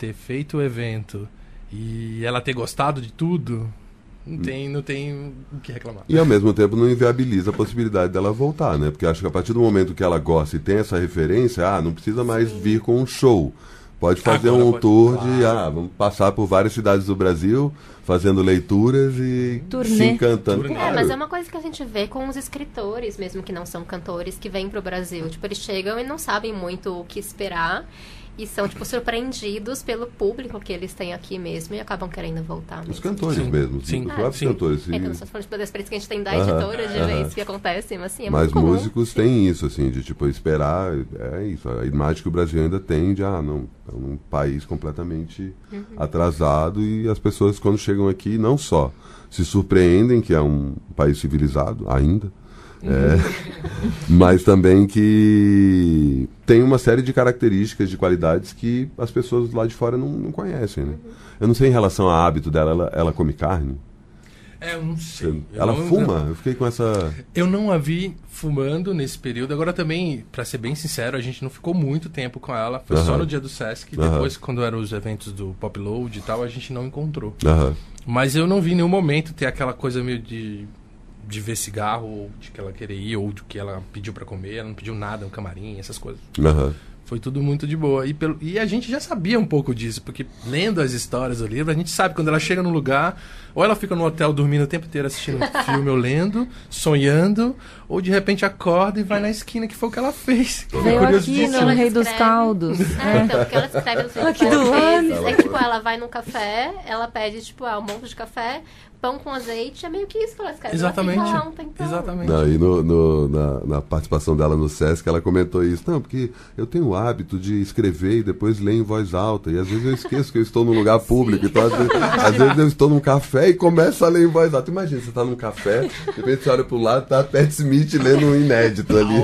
ter feito o evento e ela ter gostado de tudo, não tem, não tem o que reclamar. E ao mesmo tempo não inviabiliza a possibilidade dela voltar, né? Porque acho que a partir do momento que ela gosta e tem essa referência, ah, não precisa mais Sim. vir com um show. Pode fazer Agora um pode... tour claro. de, ah, vamos passar por várias cidades do Brasil, fazendo leituras e Turnê. se encantando. É, claro. Mas é uma coisa que a gente vê com os escritores, mesmo que não são cantores, que vêm pro Brasil. Tipo, eles chegam e não sabem muito o que esperar. E são, tipo, surpreendidos pelo público que eles têm aqui mesmo e acabam querendo voltar mesmo. Os cantores sim. mesmo, sim. os próprios sim. cantores. Então, nós estamos falando da experiência que a gente tem da editora, de ver isso que acontece, mas assim, é mas muito comum. músicos têm isso, assim, de, tipo, esperar, é isso, a imagem que o Brasil ainda tem de, ah, não, é um país completamente uhum. atrasado e as pessoas, quando chegam aqui, não só se surpreendem que é um país civilizado, ainda, É, mas também que tem uma série de características, de qualidades que as pessoas lá de fora não, não conhecem, né? Eu não sei em relação ao hábito dela, ela, ela come carne? É, eu não sei. Eu ela não, fuma? Não... Eu fiquei com essa... Eu não a vi fumando nesse período. Agora também, pra ser bem sincero, a gente não ficou muito tempo com ela. Foi uh-huh. só no dia do Sesc. Uh-huh. Depois, quando eram os eventos do Pop Load e tal, a gente não encontrou. Uh-huh. Mas eu não vi em nenhum momento ter aquela coisa meio de... de ver cigarro, ou de que ela queria ir, ou de que ela pediu pra comer, ela não pediu nada, um camarim, essas coisas. Uhum. Foi tudo muito de boa. E, pelo, e a gente já sabia um pouco disso, porque lendo as histórias do livro, a gente sabe quando ela chega num lugar, ou ela fica no hotel dormindo o tempo inteiro assistindo filme ou lendo, sonhando, ou de repente acorda e vai na esquina, que foi o que ela fez. Veio aqui no Rei dos Caldos. É, então, porque ela escreve assim, aqui do vezes, é tipo, ela vai num café, ela pede, tipo, ah, um monte de café, pão com azeite, é meio que isso que ela escreve. Exatamente. Ela fica lá um tempão. Exatamente. Não, e no, no, na, na participação dela no Sesc, ela comentou isso. Não, porque eu tenho o hábito de escrever e depois ler em voz alta. E às vezes eu esqueço que eu estou num lugar público. Então, às vezes, às vezes eu estou num café e começo a ler em voz alta. Imagina, você está num café, de repente você olha pro lado, tá a Pat Smith lendo um inédito ali.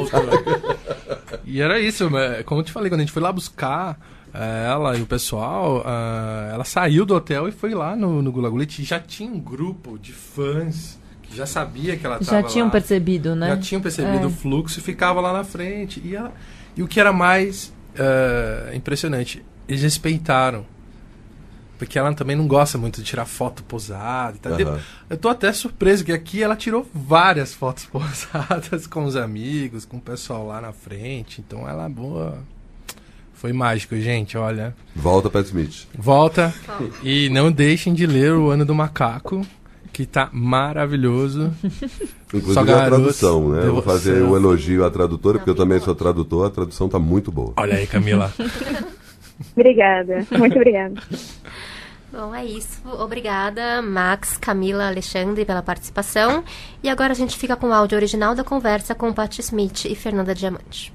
E era isso, como eu te falei, quando a gente foi lá buscar... ela e o pessoal, uh, ela saiu do hotel e foi lá no, no Gula Gullit, e já tinha um grupo de fãs que já sabia que ela estava lá. Já tinham percebido, né? Já tinham percebido é. o fluxo e ficava lá na frente. E, ela, e o que era mais uh, impressionante, eles respeitaram. Porque ela também não gosta muito de tirar foto posada e tal. Uhum. Eu tô até surpreso que aqui ela tirou várias fotos posadas com os amigos, com o pessoal lá na frente. Então ela é boa... Foi mágico, gente, olha. Volta, Pat Smith. Volta. E não deixem de ler O Ano do Macaco, que tá maravilhoso. Inclusive Só a tradução, né? Eu vou fazer o um elogio à tradutora, porque eu também sou tradutor, a tradução tá muito boa. Olha aí, Camila. Obrigada, muito obrigada. Bom, é isso. Obrigada, Max, Camila, Alexandre, pela participação. E agora a gente fica com o áudio original da conversa com Patti Smith e Fernanda Diamante.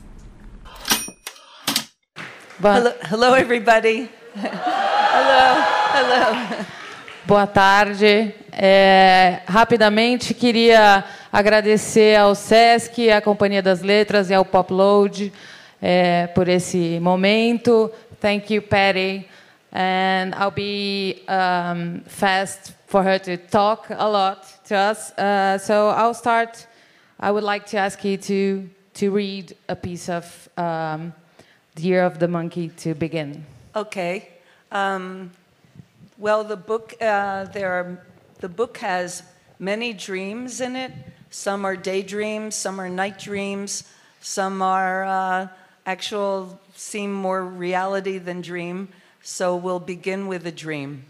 Hello, hello, everybody. Hello, hello. Boa tarde. É, rapidamente, queria agradecer ao Sesc, à Companhia das Letras e ao Pop Load é, por esse momento. Thank you, Patty. And I'll be um, fast for her to talk a lot to us. Uh, so I'll start. I would like to ask you to, to read a piece of... Um, The Year of the Monkey to begin. Okay. Um, well, the book uh, there are the book has many dreams in it. Some are daydreams, some are night dreams, some are uh, actual seem more reality than dream. So we'll begin with a dream.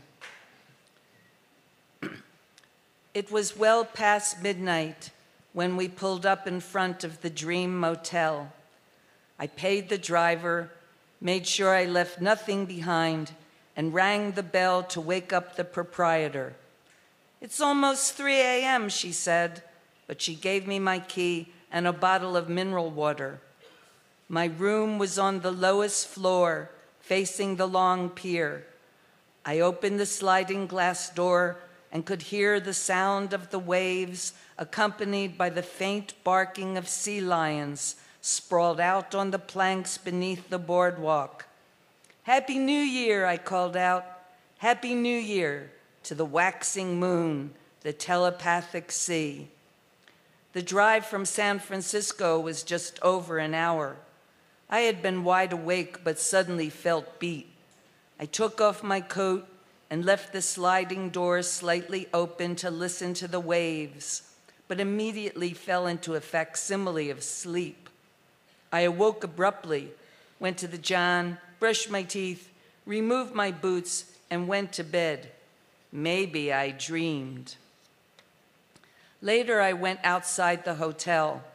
It was well past midnight when we pulled up in front of the Dream Motel. I paid the driver, made sure I left nothing behind, and rang the bell to wake up the proprietor. It's almost three a.m., she said, but she gave me my key and a bottle of mineral water. My room was on the lowest floor, facing the long pier. I opened the sliding glass door and could hear the sound of the waves, accompanied by the faint barking of sea lions, sprawled out on the planks beneath the boardwalk. Happy New Year, I called out. Happy New Year to the waxing moon, the telepathic sea. The drive from San Francisco was just over an hour. I had been wide awake but suddenly felt beat. I took off my coat and left the sliding door slightly open to listen to the waves, but immediately fell into a facsimile of sleep. I awoke abruptly, went to the John, brushed my teeth, removed my boots, and went to bed. Maybe I dreamed. Later, I went outside the hotel.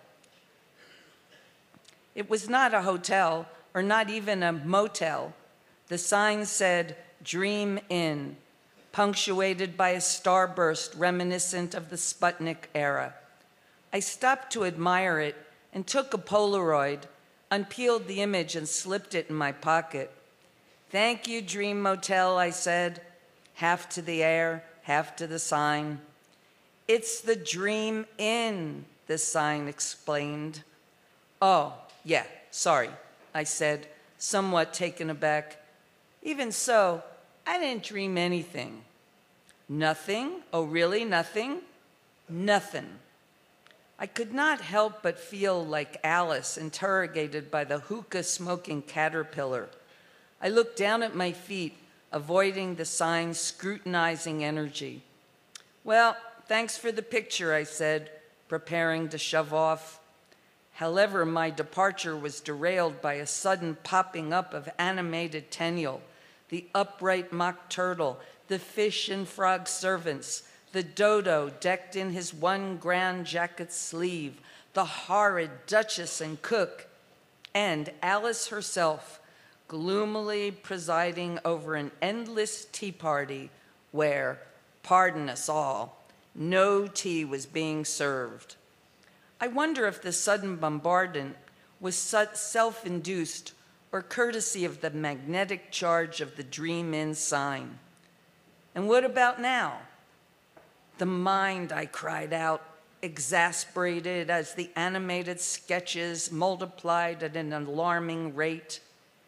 It was not a hotel, or not even a motel. The sign said, Dream Inn, punctuated by a starburst reminiscent of the Sputnik era. I stopped to admire it and took a Polaroid, unpeeled the image and slipped it in my pocket. Thank you, Dream Motel, I said, half to the air, half to the sign. It's the Dream Inn, the sign explained. Oh, yeah, sorry, I said, somewhat taken aback. Even so, I didn't dream anything. Nothing? Oh, really, nothing? Nothing. I could not help but feel like Alice interrogated by the hookah-smoking caterpillar. I looked down at my feet, avoiding the sign's scrutinizing energy. Well, thanks for the picture, I said, preparing to shove off. However, my departure was derailed by a sudden popping up of animated Tenniel, the upright mock turtle, the fish and frog servants, the dodo decked in his one grand jacket sleeve, the horrid Duchess and cook, and Alice herself, gloomily presiding over an endless tea party where, pardon us all, no tea was being served. I wonder if the sudden bombardment was self-induced or courtesy of the magnetic charge of the Dream Inn sign. And what about now? The mind, I cried out, exasperated as the animated sketches multiplied at an alarming rate.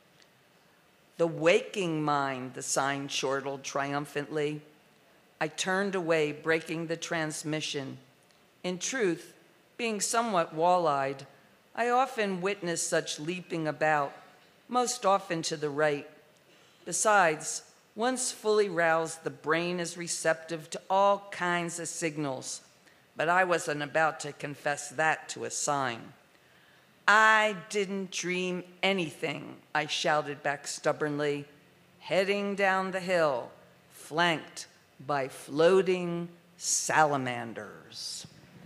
The waking mind, the sign chortled triumphantly. I turned away, breaking the transmission. In truth, being somewhat wall-eyed, I often witnessed such leaping about, most often to the right. Besides, once fully roused, the brain is receptive to all kinds of signals, but I wasn't about to confess that to a sign. I didn't dream anything, I shouted back stubbornly, heading down the hill, flanked by floating salamanders.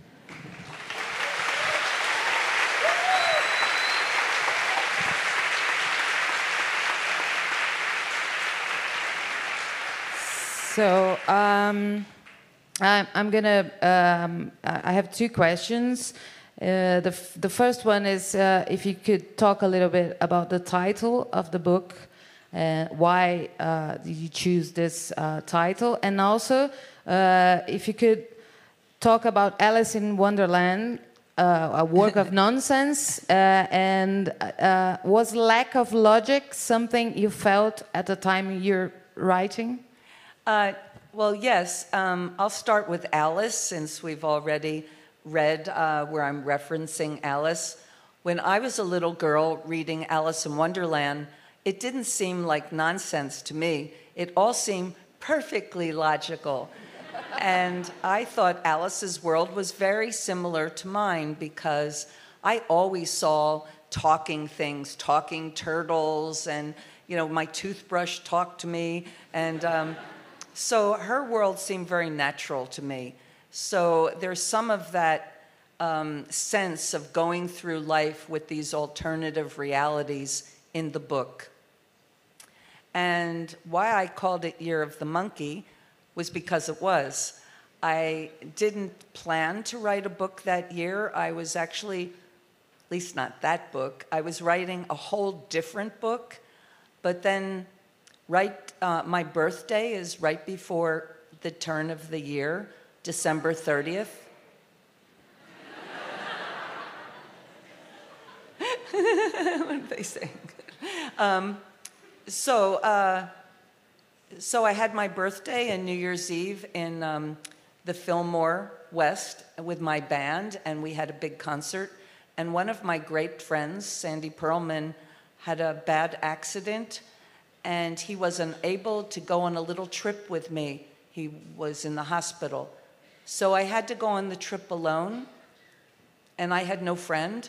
So um, I'm, I'm gonna. Um, I have two questions. Uh, the f the first one is uh, if you could talk a little bit about the title of the book, and why uh, did you choose this uh, title, and also uh, if you could talk about Alice in Wonderland, uh, a work of nonsense, uh, and uh, was lack of logic something you felt at the time you're writing? Uh, well, yes. Um, I'll start with Alice, since we've already read uh, where I'm referencing Alice. When I was a little girl reading Alice in Wonderland, it didn't seem like nonsense to me. It all seemed perfectly logical. And I thought Alice's world was very similar to mine, because I always saw talking things, talking turtles, and, you know, my toothbrush talked to me. And um, so her world seemed very natural to me. So there's some of that um, sense of going through life with these alternative realities in the book. And why I called it Year of the Monkey was because it was. I didn't plan to write a book that year. I was actually, at least not that book, I was writing a whole different book. But then right, uh, my birthday is right before the turn of the year, December thirtieth. What are they saying? Um, so, uh, so I had my birthday and New Year's Eve in um, the Fillmore West with my band, and we had a big concert. And one of my great friends, Sandy Pearlman, had a bad accident, and he was unable to go on a little trip with me. He was in the hospital. So I had to go on the trip alone, and I had no friend.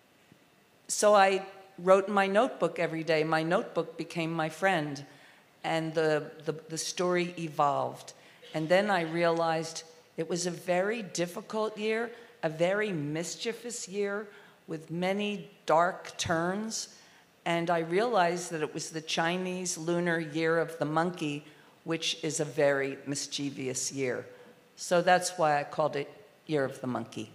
So I wrote in my notebook every day. My notebook became my friend, and the, the, the story evolved. And then I realized it was a very difficult year, a very mischievous year with many dark turns. And I realized that it was the Chinese lunar year of the monkey, which is a very mischievous year. So that's why I called it Year of the Monkey.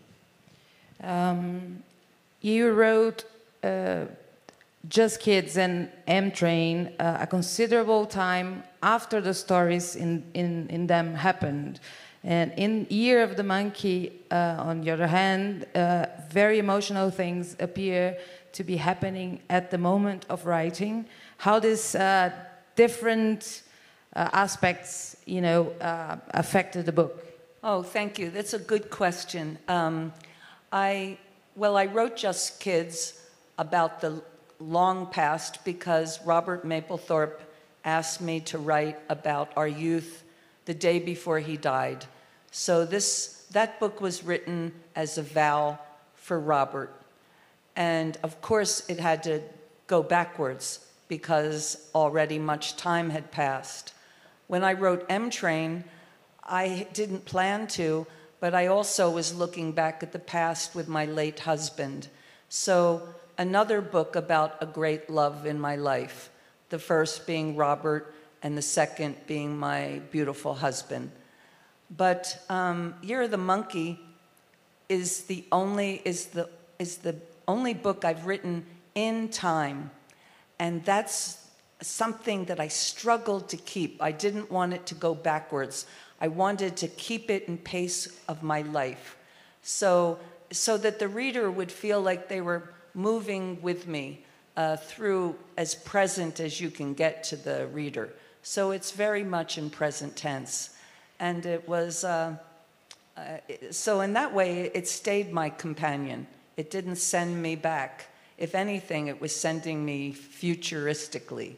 Um, you wrote uh, Just Kids and M-Train uh, a considerable time after the stories in, in, in them happened. And in Year of the Monkey, uh, on the other hand, uh, very emotional things appear to be happening at the moment of writing. How this uh, different uh, aspects, you know, uh, affected the book? Oh, thank you. That's a good question. Um, I, well, I wrote Just Kids about the long past because Robert Mapplethorpe asked me to write about our youth the day before he died. So this, that book was written as a vow for Robert. And of course, it had to go backwards because already much time had passed. When I wrote M-Train, I didn't plan to, but I also was looking back at the past with my late husband. So another book about a great love in my life, the first being Robert and the second being my beautiful husband. But um, Year of the Monkey is the only, is the, is the only book I've written in time. And that's something that I struggled to keep. I didn't want it to go backwards. I wanted to keep it in pace of my life. So, so that the reader would feel like they were moving with me uh, through as present as you can get to the reader. So it's very much in present tense. And it was, uh, uh, so in that way, it stayed my companion. It didn't send me back. If anything, it was sending me futuristically.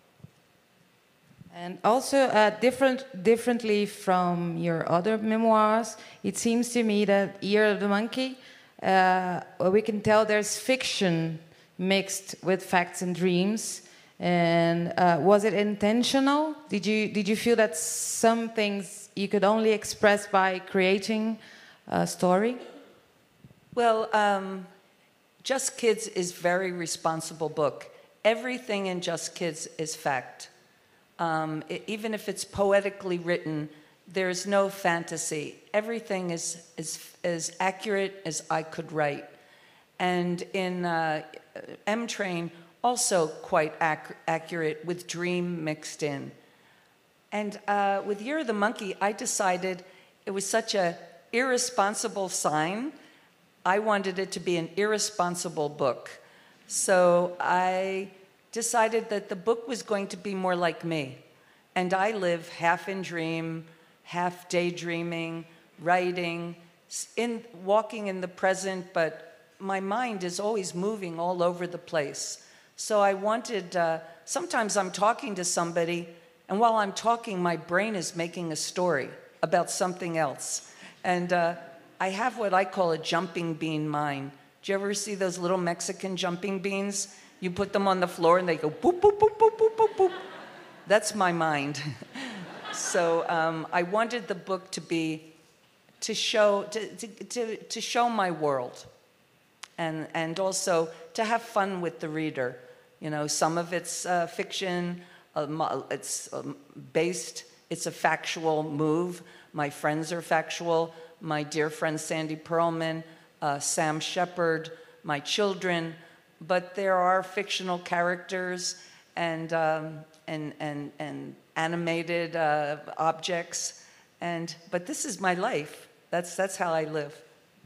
And also, uh, different, differently from your other memoirs, it seems to me that Year of the Monkey, uh, we can tell there's fiction mixed with facts and dreams. And uh, was it intentional? Did you, did you feel that some things you could only express by creating a story? Well, um, Just Kids is a very responsible book. Everything in Just Kids is fact. Um, it, even if it's poetically written, there's no fantasy. Everything is as, as accurate as I could write. And in uh, M-Train, also quite ac accurate with dream mixed in. And uh, with Year of the Monkey, I decided it was such a irresponsible sign. I wanted it to be an irresponsible book. So I decided that the book was going to be more like me. And I live half in dream, half daydreaming, writing, in, walking in the present, but my mind is always moving all over the place. So I wanted, uh, sometimes I'm talking to somebody, and while I'm talking, my brain is making a story about something else. And uh, I have what I call a jumping bean mind. Do you ever see those little Mexican jumping beans? You put them on the floor and they go boop, boop, boop, boop, boop, boop, boop. That's my mind. So um, I wanted the book to be, to show, to, to, to, to show my world. And, and also to have fun with the reader. You know, some of it's uh, fiction, uh, it's um, based, it's a factual move. My friends are factual. My dear friend Sandy Pearlman, uh, Sam Shepard, my children. But there are fictional characters and, um, and, and, and animated uh, objects. And, but this is my life. That's, that's how I live.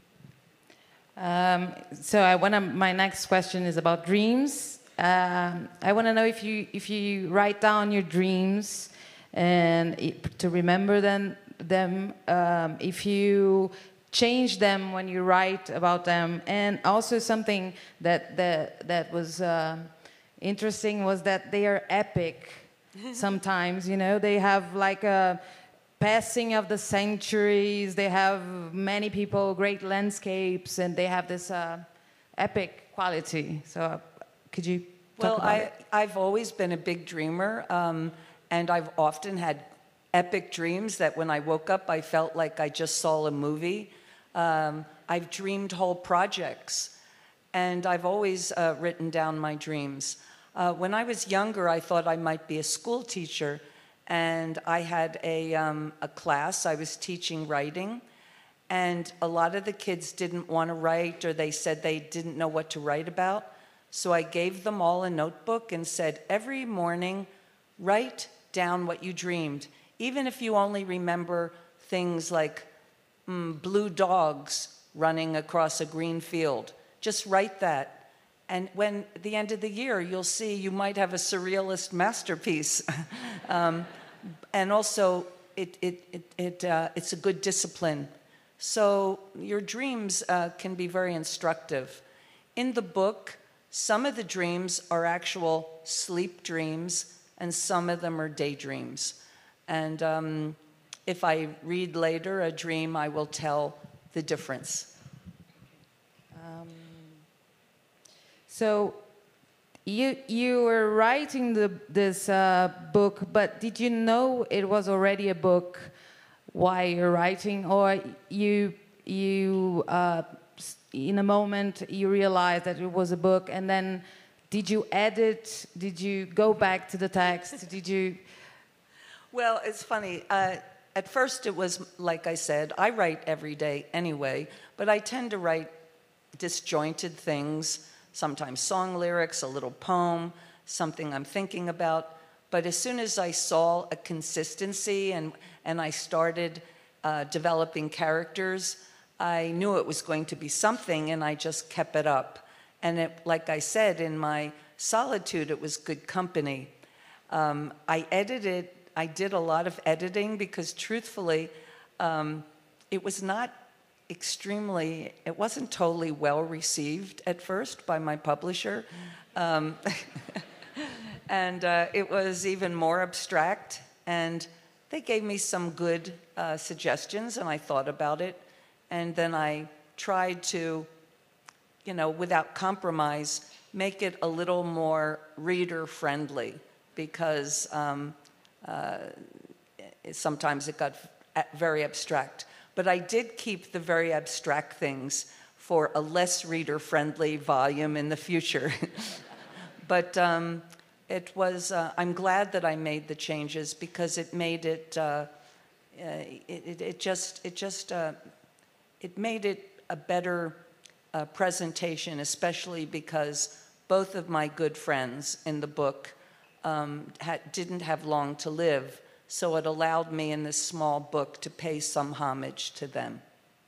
Um, so I wanna, my next question is about dreams. Um, I want to know if you, if you write down your dreams and it, to remember them, them um, if you change them when you write about them. And also something that, that, that was uh, interesting was that they are epic sometimes, you know, they have like a passing of the centuries, they have many people, great landscapes, and they have this uh, epic quality. So uh, could you talk well, about I, it? I've always been a big dreamer, um, and I've often had epic dreams that when I woke up, I felt like I just saw a movie. Um, I've dreamed whole projects, and I've always uh, written down my dreams. Uh, when I was younger, I thought I might be a school teacher, and I had a, um, a class. I was teaching writing, and a lot of the kids didn't want to write, or they said they didn't know what to write about. So I gave them all a notebook and said, every morning, write down what you dreamed, even if you only remember things like mm, blue dogs running across a green field. Just write that. And when at the end of the year, you'll see you might have a surrealist masterpiece. um, and also, it, it, it, it, uh, it's a good discipline. So your dreams uh, can be very instructive. In the book, some of the dreams are actual sleep dreams, and some of them are daydreams. And um, if I read later a dream, I will tell the difference. Um, so you you were writing the, this uh, book, but did you know it was already a book while you're writing, or you you uh, in a moment you realized that it was a book, and then did you edit? Did you go back to the text? Did you? Well, it's funny. Uh, at first, it was like I said, I write every day anyway, but I tend to write disjointed things. Sometimes song lyrics, a little poem, something I'm thinking about. But as soon as I saw a consistency and, and I started uh, developing characters, I knew it was going to be something, and I just kept it up. And it, like I said, in my solitude, it was good company. Um, I edited, I did a lot of editing because truthfully, um, it was not extremely, it wasn't totally well received at first by my publisher. Um, and uh, it was even more abstract, and they gave me some good uh, suggestions, and I thought about it, and then I tried to, you know, without compromise, make it a little more reader-friendly, because um, uh, sometimes it got very abstract. But I did keep the very abstract things for a less reader-friendly volume in the future. But um, it was, uh, I'm glad that I made the changes, because it made it, uh, uh, it, it, it just, it just, uh, it made it a better uh, presentation, especially because both of my good friends in the book um, had, didn't have long to live. So it allowed me in this small book to pay some homage to them.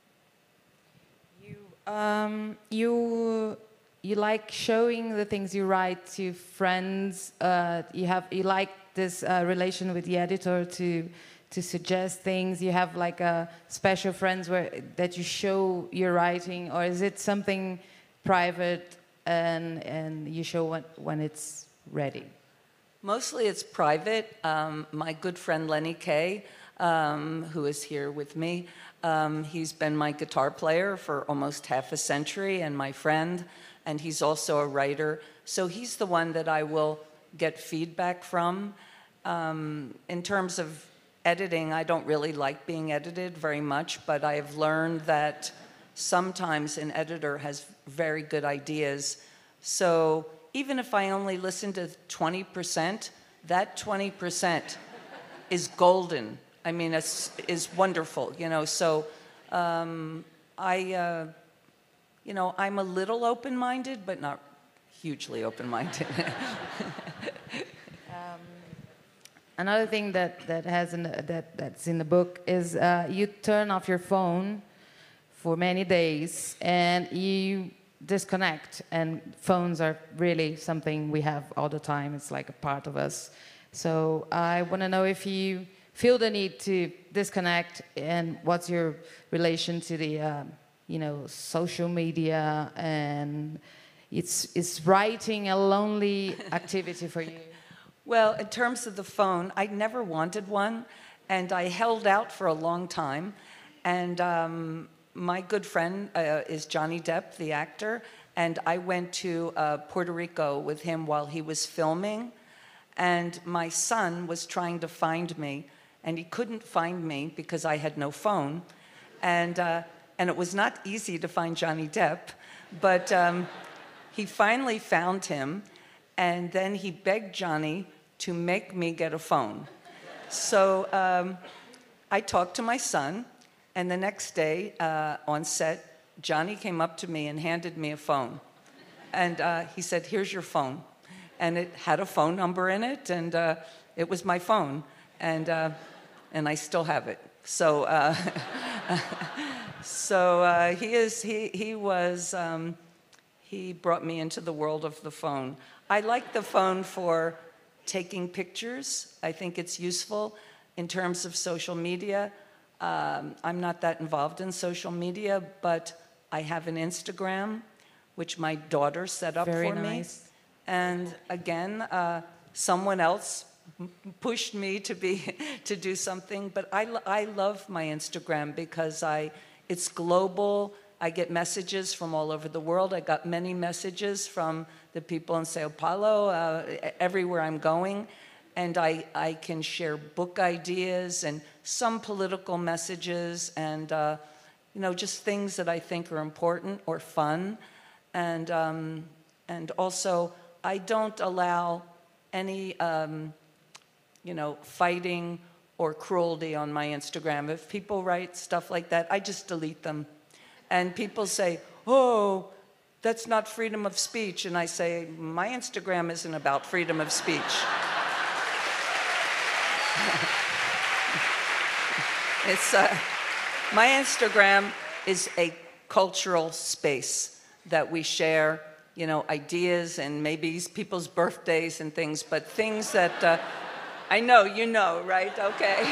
You, um, you, you like showing the things you write to friends. Uh, you have, you like this uh, relation with the editor to, to suggest things. You have like a special friends where that you show your writing, or is it something private and and you show when when it's ready? Mostly it's private. Um, my good friend Lenny Kaye, um, who is here with me, um, he's been my guitar player for almost half a century, and my friend, and he's also a writer. So he's the one that I will get feedback from. Um, in terms of editing, I don't really like being edited very much, but I have learned that sometimes an editor has very good ideas. So even if I only listen to twenty percent, that twenty percent is golden. I mean, it's is wonderful, you know. So um, I, uh, you know, I'm a little open-minded, but not hugely open-minded. um, another thing that that has in the, that that's in the book is uh, you turn off your phone for many days and you disconnect, and phones are really something we have all the time. It's like a part of us. So I want to know if you feel the need to disconnect, and what's your relation to the uh, you know, social media, and it's is writing a lonely activity for you? Well, in terms of the phone, I never wanted one, and I held out for a long time. And um, my good friend uh, is Johnny Depp, the actor, and I went to uh, Puerto Rico with him while he was filming. And my son was trying to find me, and he couldn't find me because I had no phone. And, uh, and it was not easy to find Johnny Depp, but um, he finally found him, and then he begged Johnny to make me get a phone. So um, I talked to my son, and the next day uh, on set, Johnny came up to me and handed me a phone. And uh, he said, "Here's your phone." And it had a phone number in it, and uh, it was my phone. And, uh, and I still have it. So, uh, so uh, he, is, he, he was, um, he brought me into the world of the phone. I like the phone for taking pictures. I think it's useful in terms of social media. Um, I'm not that involved in social media, but I have an Instagram, which my daughter set up Very for nice. me. And again, uh, someone else pushed me to be to do something. But I, I love my Instagram because I it's global. I get messages from all over the world. I got many messages from the people in Sao Paulo, uh, everywhere I'm going. And I, I can share book ideas and some political messages and, uh, you know, just things that I think are important or fun. And, um, and also, I don't allow any, um, you know, fighting or cruelty on my Instagram. If people write stuff like that, I just delete them. And people say, "Oh, that's not freedom of speech." And I say, my Instagram isn't about freedom of speech. It's, uh, my Instagram is a cultural space that we share, you know, ideas and maybe people's birthdays and things, but things that, uh, I know, you know, right? Okay.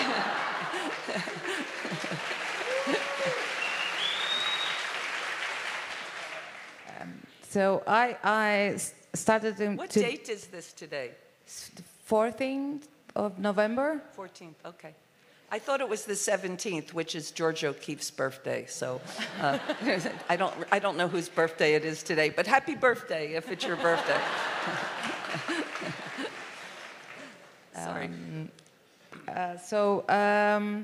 So I, I started to... What to date is this today? The fourteenth of November. fourteenth, okay. I thought it was the seventeenth, which is George O'Keeffe's birthday. So uh, I don't, I don't know whose birthday it is today, but happy birthday if it's your birthday. Sorry. Um, uh, so um,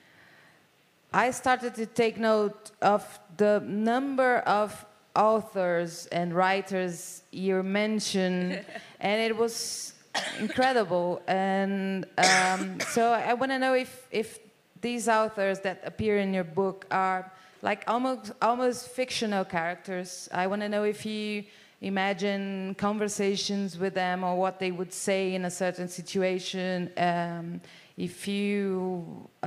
I started to take note of the number of authors and writers you mentioned, and it was incredible. And um, so I want to know if if these authors that appear in your book are like almost almost fictional characters. I want to know if you imagine conversations with them or what they would say in a certain situation. Um, if you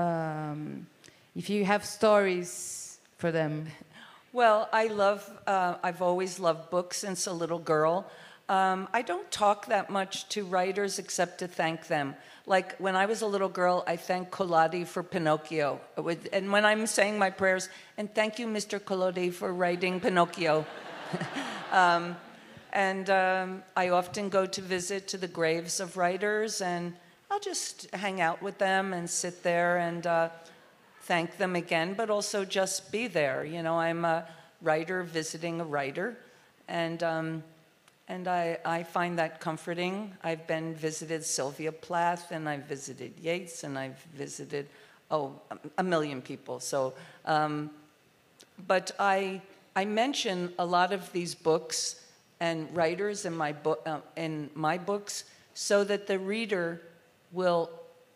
um, if you have stories for them. Well, I love, uh, I've always loved books since a little girl. Um, I don't talk that much to writers except to thank them. Like when I was a little girl, I thanked Collodi for Pinocchio. Would, and when I'm saying my prayers, and thank you, Mister Collodi, for writing Pinocchio. um, and um, I often go to visit to the graves of writers, and I'll just hang out with them and sit there and uh, thank them again, but also just be there. You know, I'm a writer visiting a writer, and um, and I, I find that comforting. I've been visited Sylvia Plath, and I've visited Yeats, and I've visited, oh, a million people. So, um, but I I mention a lot of these books and writers in my book uh, in my books so that the reader will.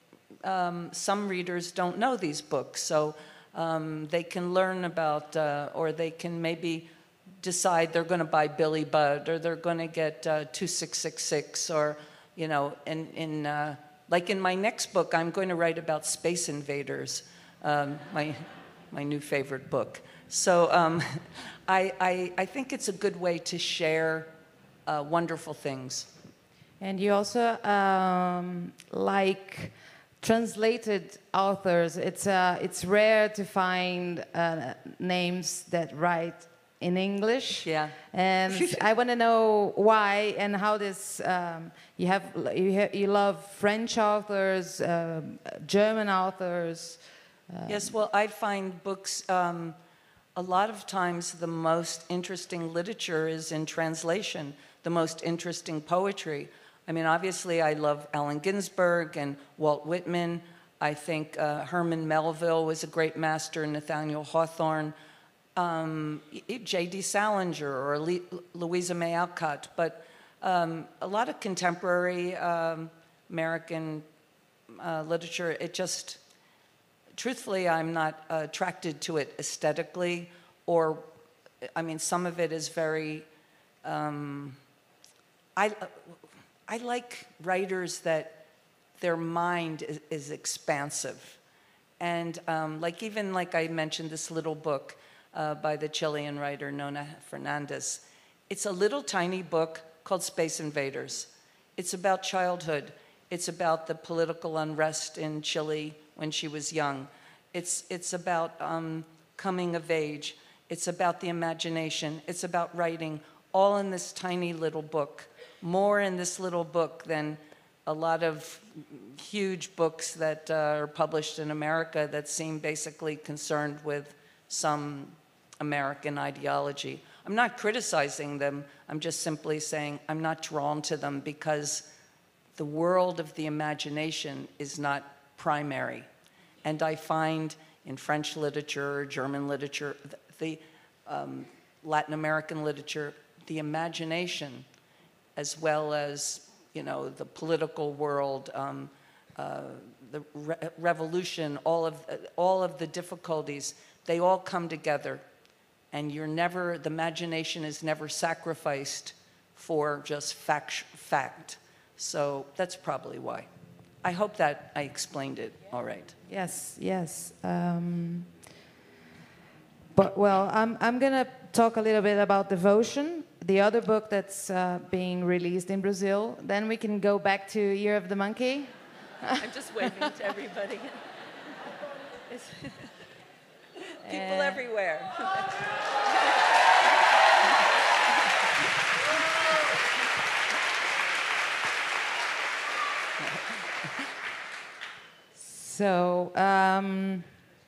Um, some readers don't know these books, so um, they can learn about, uh, or they can maybe decide they're going to buy Billy Budd, or they're going to get uh, two six six six, or, you know, in, in uh, like in my next book, I'm going to write about Space Invaders, um, my, my new favorite book. So um, I, I, I think it's a good way to share uh, wonderful things. And you also um, like... translated authors. It's uh, it's rare to find uh, names that write in English. Yeah. And I want to know why and how this. Um, you have you, ha you love French authors, uh, German authors. Um, yes. Well, I find books. Um, a lot of times, the most interesting literature is in translation. The most interesting poetry. I mean, obviously, I love Allen Ginsberg and Walt Whitman. I think uh, Herman Melville was a great master, Nathaniel Hawthorne, um, J D Salinger or Le Louisa May Alcott. But um, a lot of contemporary um, American uh, literature, it just, truthfully, I'm not attracted to it aesthetically, or, I mean, some of it is very, um, I, I like writers that their mind is, is expansive. And um, like even like I mentioned, this little book uh, by the Chilean writer Nona Fernandez. It's a little tiny book called Space Invaders. It's about childhood. It's about the political unrest in Chile when she was young. It's, it's about um, coming of age. It's about the imagination. It's about writing, all in this tiny little book. More in this little book than a lot of huge books that uh, are published in America that seem basically concerned with some American ideology. I'm not criticizing them. I'm just simply saying I'm not drawn to them because the world of the imagination is not primary. And I find in French literature, German literature, the um, Latin American literature, the imagination, as well as, you know, the political world, um, uh, the re revolution, all of, uh, all of the difficulties, they all come together. And you're never, the imagination is never sacrificed for just fact. fact. So that's probably why. I hope that I explained it all right. Yes, yes. Um, but, well, I'm, I'm going to talk a little bit about Devotion, the other book that's uh, being released in Brazil. Then we can go back to Year of the Monkey. I'm just waving to everybody. People uh, everywhere. So, um,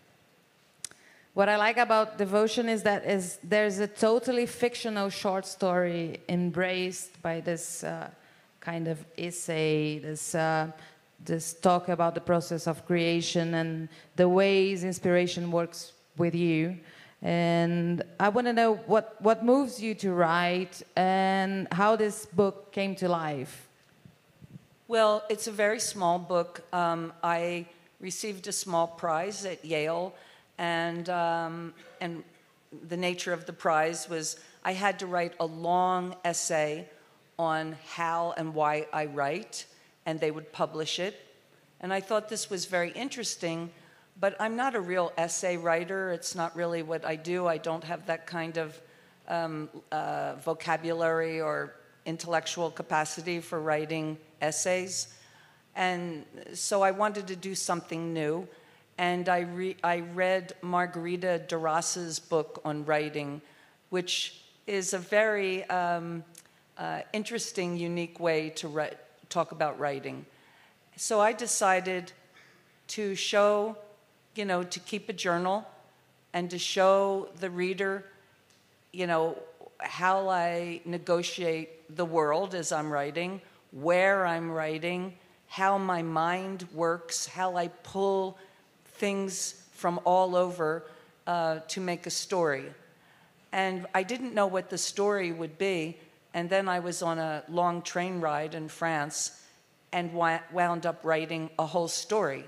what I like about Devotion is that is there's a totally fictional short story embraced by this uh, kind of essay, this uh, this talk about the process of creation and the ways inspiration works with you. And I want to know what what moves you to write and how this book came to life. Well, it's a very small book. Um, I received a small prize at Yale, and um, and the nature of the prize was I had to write a long essay on how and why I write, and they would publish it. And I thought this was very interesting, but I'm not a real essay writer. It's not really what I do. I don't have that kind of um, uh, vocabulary or intellectual capacity for writing essays. And so I wanted to do something new. And I, re I read Margarita Duras' book on writing, which is a very um, uh, interesting, unique way to write, talk about writing. So I decided to show, you know, to keep a journal and to show the reader, you know, how I negotiate the world as I'm writing, where I'm writing, how my mind works, how I pull things from all over uh, to make a story. And I didn't know what the story would be, and then I was on a long train ride in France and wound up writing a whole story.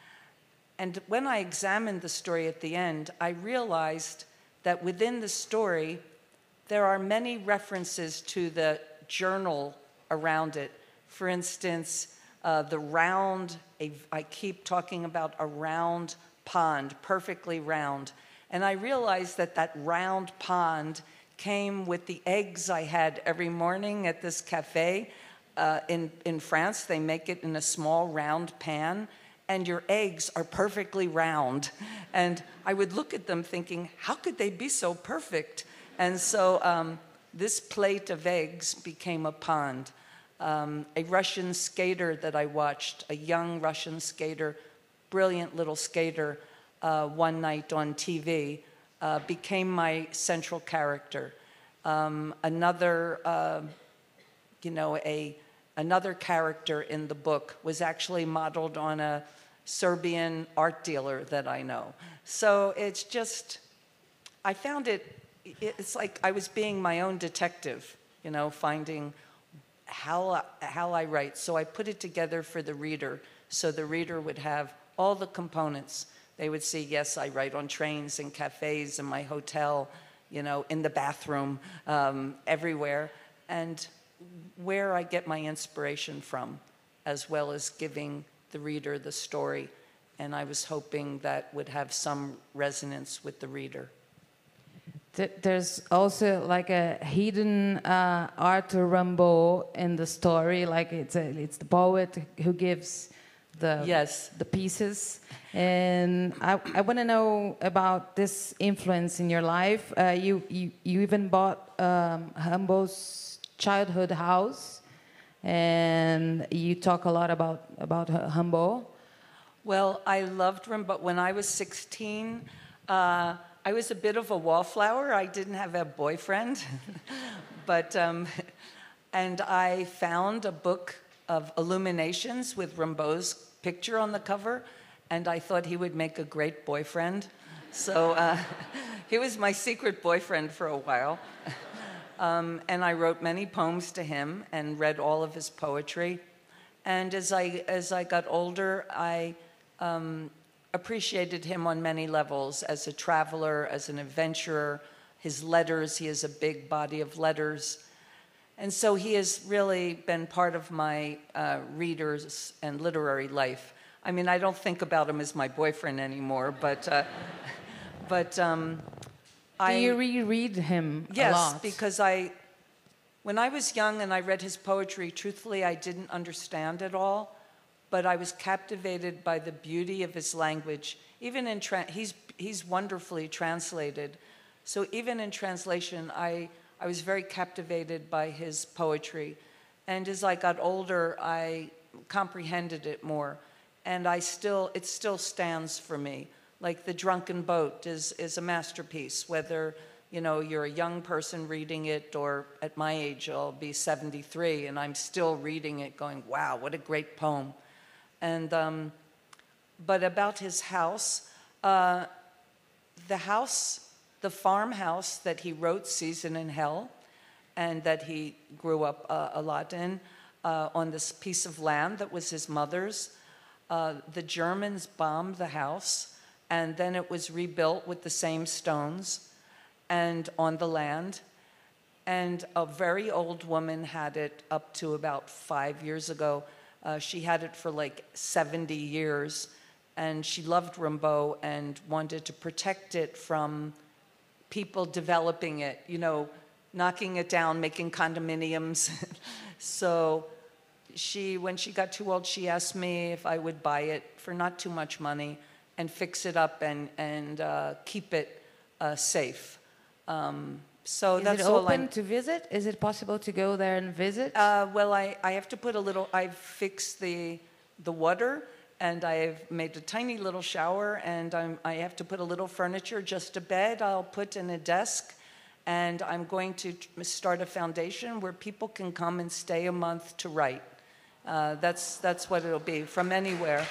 And when I examined the story at the end, I realized that within the story, there are many references to the journal around it. For instance, uh, the round, a, I keep talking about a round pond, perfectly round. And I realized that that round pond came with the eggs I had every morning at this cafe. Uh, in, in France, they make it in a small round pan, and your eggs are perfectly round. And I would look at them thinking, how could they be so perfect? And so um, this plate of eggs became a pond. Um, a Russian skater that I watched, a young Russian skater, brilliant little skater, uh, one night on T V, uh, became my central character. Um, another, uh, you know, a another character in the book was actually modeled on a Serbian art dealer that I know. So it's just, I found it, it's like I was being my own detective, you know, finding how, how I write. So I put it together for the reader, so the reader would have all the components. They would see, yes, I write on trains and cafes, in my hotel, you know, in the bathroom, um, everywhere, and where I get my inspiration from, as well as giving the reader the story. And I was hoping that would have some resonance with the reader. There's also like a hidden uh, Arthur Rimbaud in the story, like it's a, it's the poet who gives the yes. the pieces. And I, I want to know about this influence in your life. Uh, you, you you even bought um, Rimbaud's childhood house, and you talk a lot about about Rimbaud. Well, I loved Rimbaud. When I was sixteen, uh, I was a bit of a wallflower. I didn't have a boyfriend, but um, and I found a book of Illuminations with Rimbaud's picture on the cover, and I thought he would make a great boyfriend. So uh, he was my secret boyfriend for a while. Um, and I wrote many poems to him and read all of his poetry. And as I, as I got older, I um, appreciated him on many levels, as a traveler, as an adventurer. His letters, he has a big body of letters. And so he has really been part of my uh, readers and literary life. I mean, I don't think about him as my boyfriend anymore, but, uh, but um, Do I... you reread him yes, a lot? because I, when I was young and I read his poetry, truthfully, I didn't understand it all, but I was captivated by the beauty of his language. Even in, tra he's, he's wonderfully translated. So even in translation, I, I was very captivated by his poetry. And as I got older, I comprehended it more. And I still, it still stands for me. Like The Drunken Boat is, is a masterpiece, whether, you know, you're a young person reading it, or at my age, I'll be seventy-three, and I'm still reading it going, wow, what a great poem. And, um, but about his house, uh, the house, the farmhouse that he wrote Season in Hell, and that he grew up uh, a lot in, uh, on this piece of land that was his mother's. Uh, the Germans bombed the house, and then it was rebuilt with the same stones and on the land. And a very old woman had it up to about five years ago. Uh, she had it for like seventy years, and she loved Rimbaud and wanted to protect it from people developing it, you know, knocking it down, making condominiums. So she, when she got too old, she asked me if I would buy it for not too much money and fix it up and, and uh, keep it uh, safe. Um, so Is that's it all open I'm, to visit? Is it possible to go there and visit? Uh, well, I, I have to put a little, I've fixed the, the water, and I've made a tiny little shower, and I'm, I have to put a little furniture, just a bed I'll put in a desk, and I'm going to start a foundation where people can come and stay a month to write. Uh, that's, that's what it'll be, from anywhere.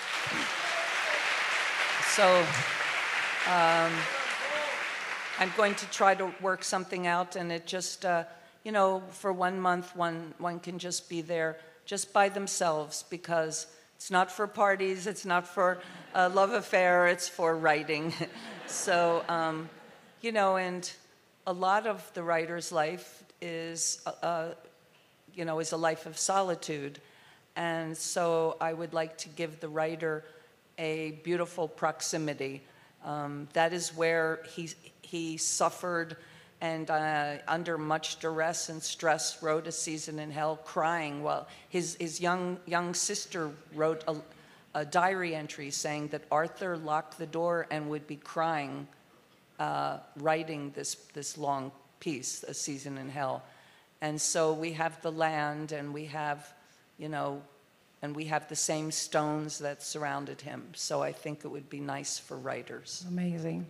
So um, I'm going to try to work something out, and it just, uh, you know, for one month, one, one can just be there just by themselves, because it's not for parties, it's not for a love affair, it's for writing. So, um, you know, and a lot of the writer's life is, uh, you know, is a life of solitude. And so I would like to give the writer a beautiful proximity. Um, that is where he, he suffered, and uh, under much duress and stress wrote A Season in Hell, crying while his, his young, young sister wrote a, a diary entry saying that Arthur locked the door and would be crying uh, writing this, this long piece, A Season in Hell. And so we have the land, and we have, you know, and we have the same stones that surrounded him. So I think it would be nice for writers. Amazing.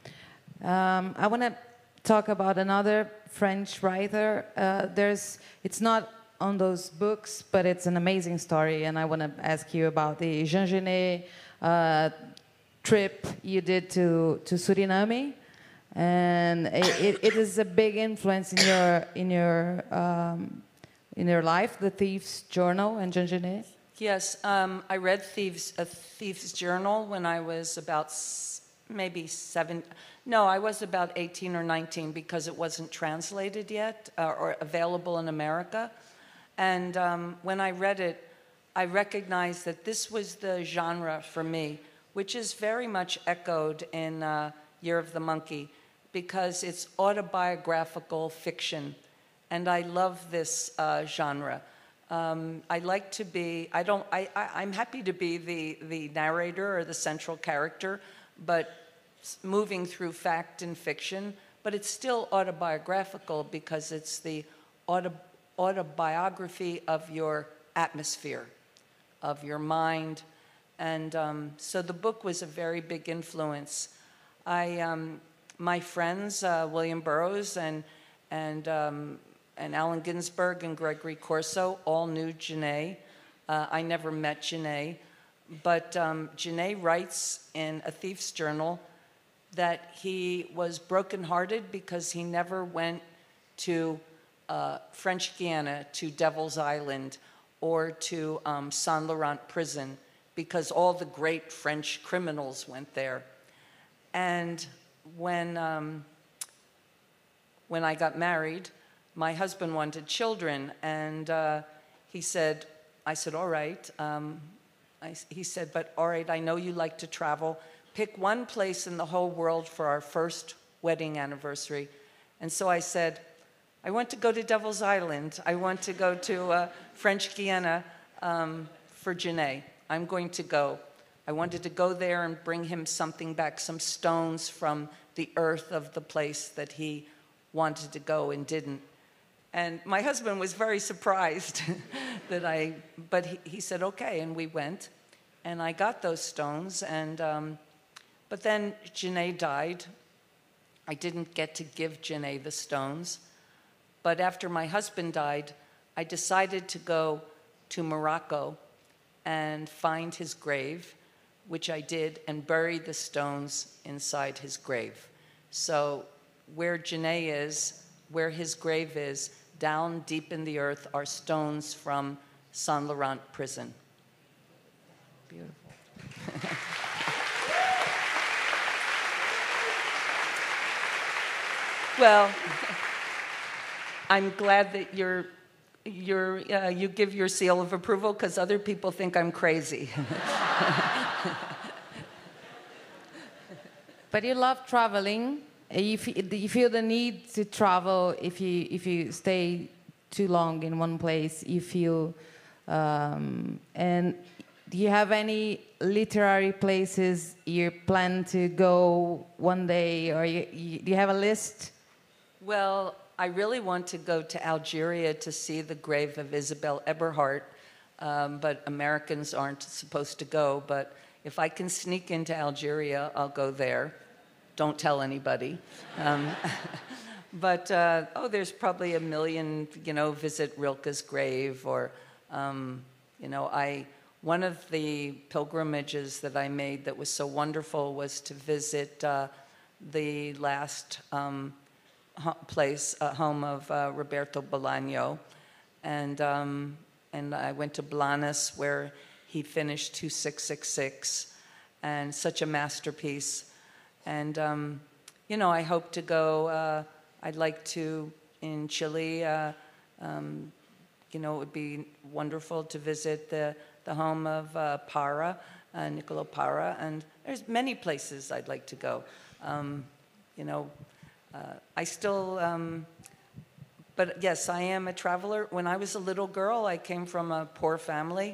Um, I want to talk about another French writer. Uh, there's, it's not on those books, but it's an amazing story, and I want to ask you about the Jean Genet uh, trip you did to, to Suriname, and it, it is a big influence in your in your um, in your life, The Thief's Journal and Jean Genet. Yes, um, I read Thieves, A Thief's Journal when I was about s- maybe seven. No, I was about eighteen or nineteen because it wasn't translated yet uh, or available in America. And um, when I read it, I recognized that this was the genre for me, which is very much echoed in uh, Year of the Monkey, because it's autobiographical fiction. And I love this uh, genre. Um, I like to be, I don't, I, I, I'm happy to be the, the narrator or the central character, but moving through fact and fiction, but it's still autobiographical because it's the auto, autobiography of your atmosphere, of your mind. And um, so the book was a very big influence. I, um, my friends, uh, William Burroughs and, and, um, and Allen Ginsberg and Gregory Corso all knew Genet. Uh, I never met Genet, but um, Genet writes in A Thief's Journal that he was brokenhearted because he never went to uh, French Guiana, to Devil's Island, or to um, Saint Laurent prison, because all the great French criminals went there. And when, um, when I got married, my husband wanted children, and uh, he said, I said, all right. Um, I, he said, but all right, I know you like to travel. Pick one place in the whole world for our first wedding anniversary. And so I said, I want to go to Devil's Island. I want to go to uh, French Guiana um, for Genet. I'm going to go. I wanted to go there and bring him something back, some stones from the earth of the place that he wanted to go and didn't. And my husband was very surprised that I, but he, he said, okay, and we went. And I got those stones, and um, but then Genet died. I didn't get to give Genet the stones. But after my husband died, I decided to go to Morocco and find his grave, which I did, and bury the stones inside his grave. So where Genet is, where his grave is, down deep in the earth are stones from Saint Laurent prison. Beautiful. Well, I'm glad that you're, you're, uh, you give your seal of approval, because other people think I'm crazy. But you love traveling. You feel, you feel the need to travel. If you if you stay too long in one place, you feel. Um, and do you have any literary places you plan to go one day, or you, you, do you have a list? Well, I really want to go to Algeria to see the grave of Isabel Eberhardt, um, but Americans aren't supposed to go. But if I can sneak into Algeria, I'll go there. Don't tell anybody. Um, but, uh, oh, there's probably a million, you know, visit Rilke's grave, or, um, you know, I, one of the pilgrimages that I made that was so wonderful was to visit uh, the last um, place, uh, home of uh, Roberto Bolaño. And, um, and I went to Blanes, where he finished two six six six, and such a masterpiece. And, um, you know, I hope to go, uh, I'd like to, in Chile, uh, um, you know, it would be wonderful to visit the, the home of uh, Parra, uh, Niccolo Parra, and there's many places I'd like to go. Um, you know, uh, I still, um, but yes, I am a traveler. When I was a little girl, I came from a poor family,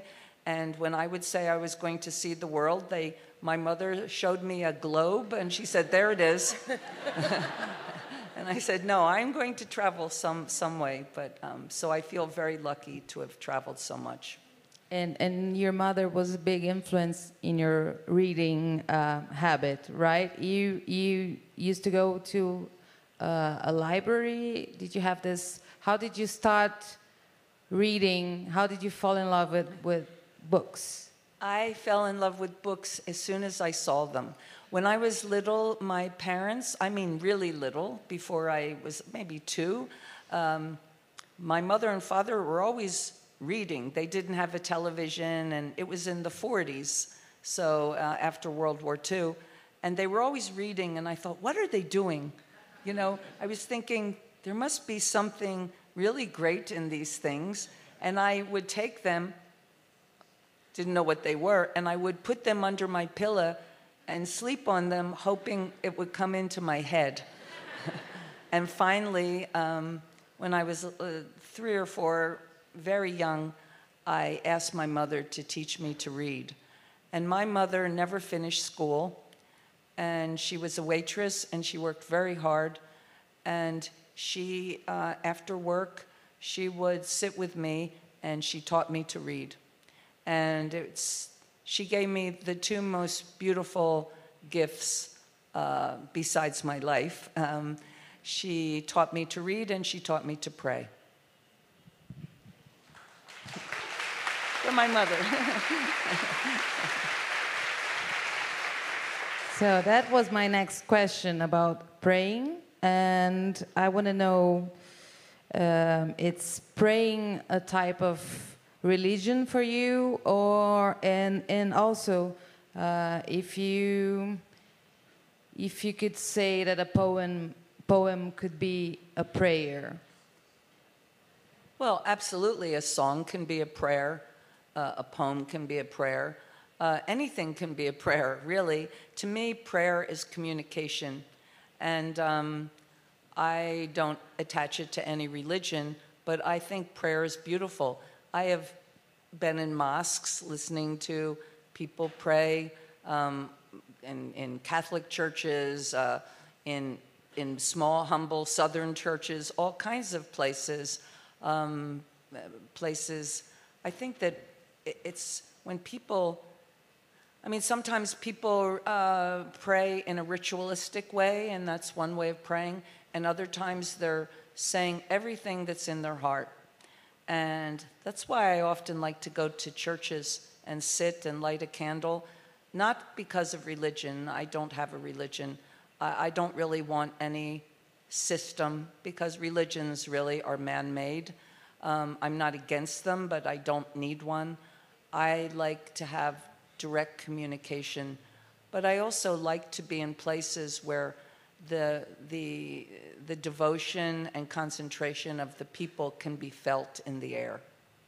And when I would say I was going to see the world, they, my mother showed me a globe, and she said, there it is. And I said, no, I'm going to travel some, some way. But um, so I feel very lucky to have traveled so much. And, and your mother was a big influence in your reading uh, habit, right? You, you used to go to uh, a library. Did you have this? How did you start reading? How did you fall in love with, with books? I fell in love with books as soon as I saw them. When I was little, my parents, I mean really little, before I was maybe two, um, my mother and father were always reading. They didn't have a television, and it was in the forties, so uh, after World War Two, and they were always reading, and I thought, what are they doing? You know, I was thinking, there must be something really great in these things, and I would take them, didn't know what they were, and I would put them under my pillow and sleep on them, hoping it would come into my head. And finally, um, when I was uh, three or four, very young, I asked my mother to teach me to read. And my mother never finished school, and she was a waitress, and she worked very hard. And she, uh, after work, she would sit with me, and she taught me to read. And it's, she gave me the two most beautiful gifts uh, besides my life. Um, she taught me to read, and she taught me to pray. For my mother. So that was my next question about praying, and I want to know, um, it's praying a type of religion for you, or and and also uh, if you if you could say that a poem poem could be a prayer. Well, absolutely, a song can be a prayer. Uh, a poem can be a prayer. Uh, anything can be a prayer, really. To me, prayer is communication. And um, I don't attach it to any religion, but I think prayer is beautiful. I have been in mosques listening to people pray, um, in, in Catholic churches, uh, in, in small, humble Southern churches, all kinds of places. Um, places, I think that it's when people, I mean, sometimes people uh, pray in a ritualistic way, and that's one way of praying, and other times they're saying everything that's in their heart. And that's why I often like to go to churches and sit and light a candle, not because of religion. I don't have a religion. I, I don't really want any system, because religions really are man-made. Um, I'm not against them, but I don't need one. I like to have direct communication, but I also like to be in places where the, the, the devotion and concentration of the people can be felt in the air.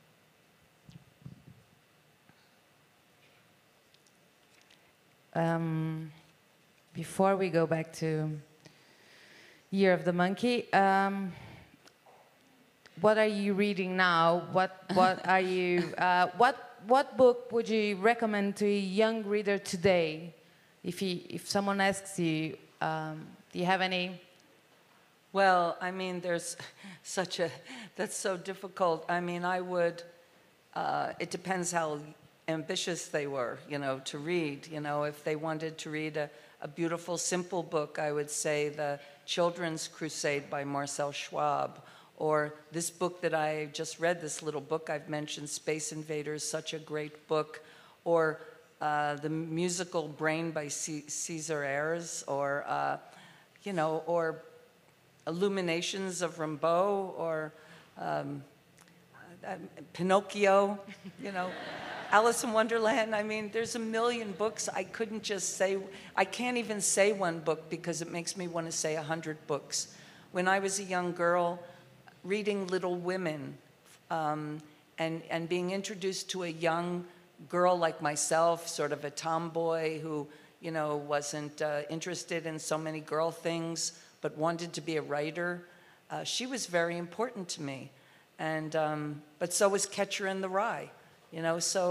Um, before we go back to Year of the Monkey, um, what are you reading now? What, what are you, uh, what What book would you recommend to a young reader today? If, he, if someone asks you, um, do you have any? Well, I mean, there's such a, that's so difficult. I mean, I would, uh, it depends how ambitious they were, you know, to read. You know, if they wanted to read a, a beautiful, simple book, I would say The Children's Crusade by Marcel Schwab. Or this book that I just read, this little book I've mentioned, Space Invaders, such a great book. Or uh, the musical Brain by C Caesar Ayres, or, uh, you know, or Illuminations of Rimbaud, or um, uh, Pinocchio, you know, Alice in Wonderland. I mean, there's a million books. I couldn't just say, I can't even say one book because it makes me want to say a hundred books. When I was a young girl, reading Little Women, um, and, and being introduced to a young girl like myself, sort of a tomboy who, you know, wasn't uh, interested in so many girl things, but wanted to be a writer, uh, she was very important to me. And, um, but so was Catcher in the Rye, you know, so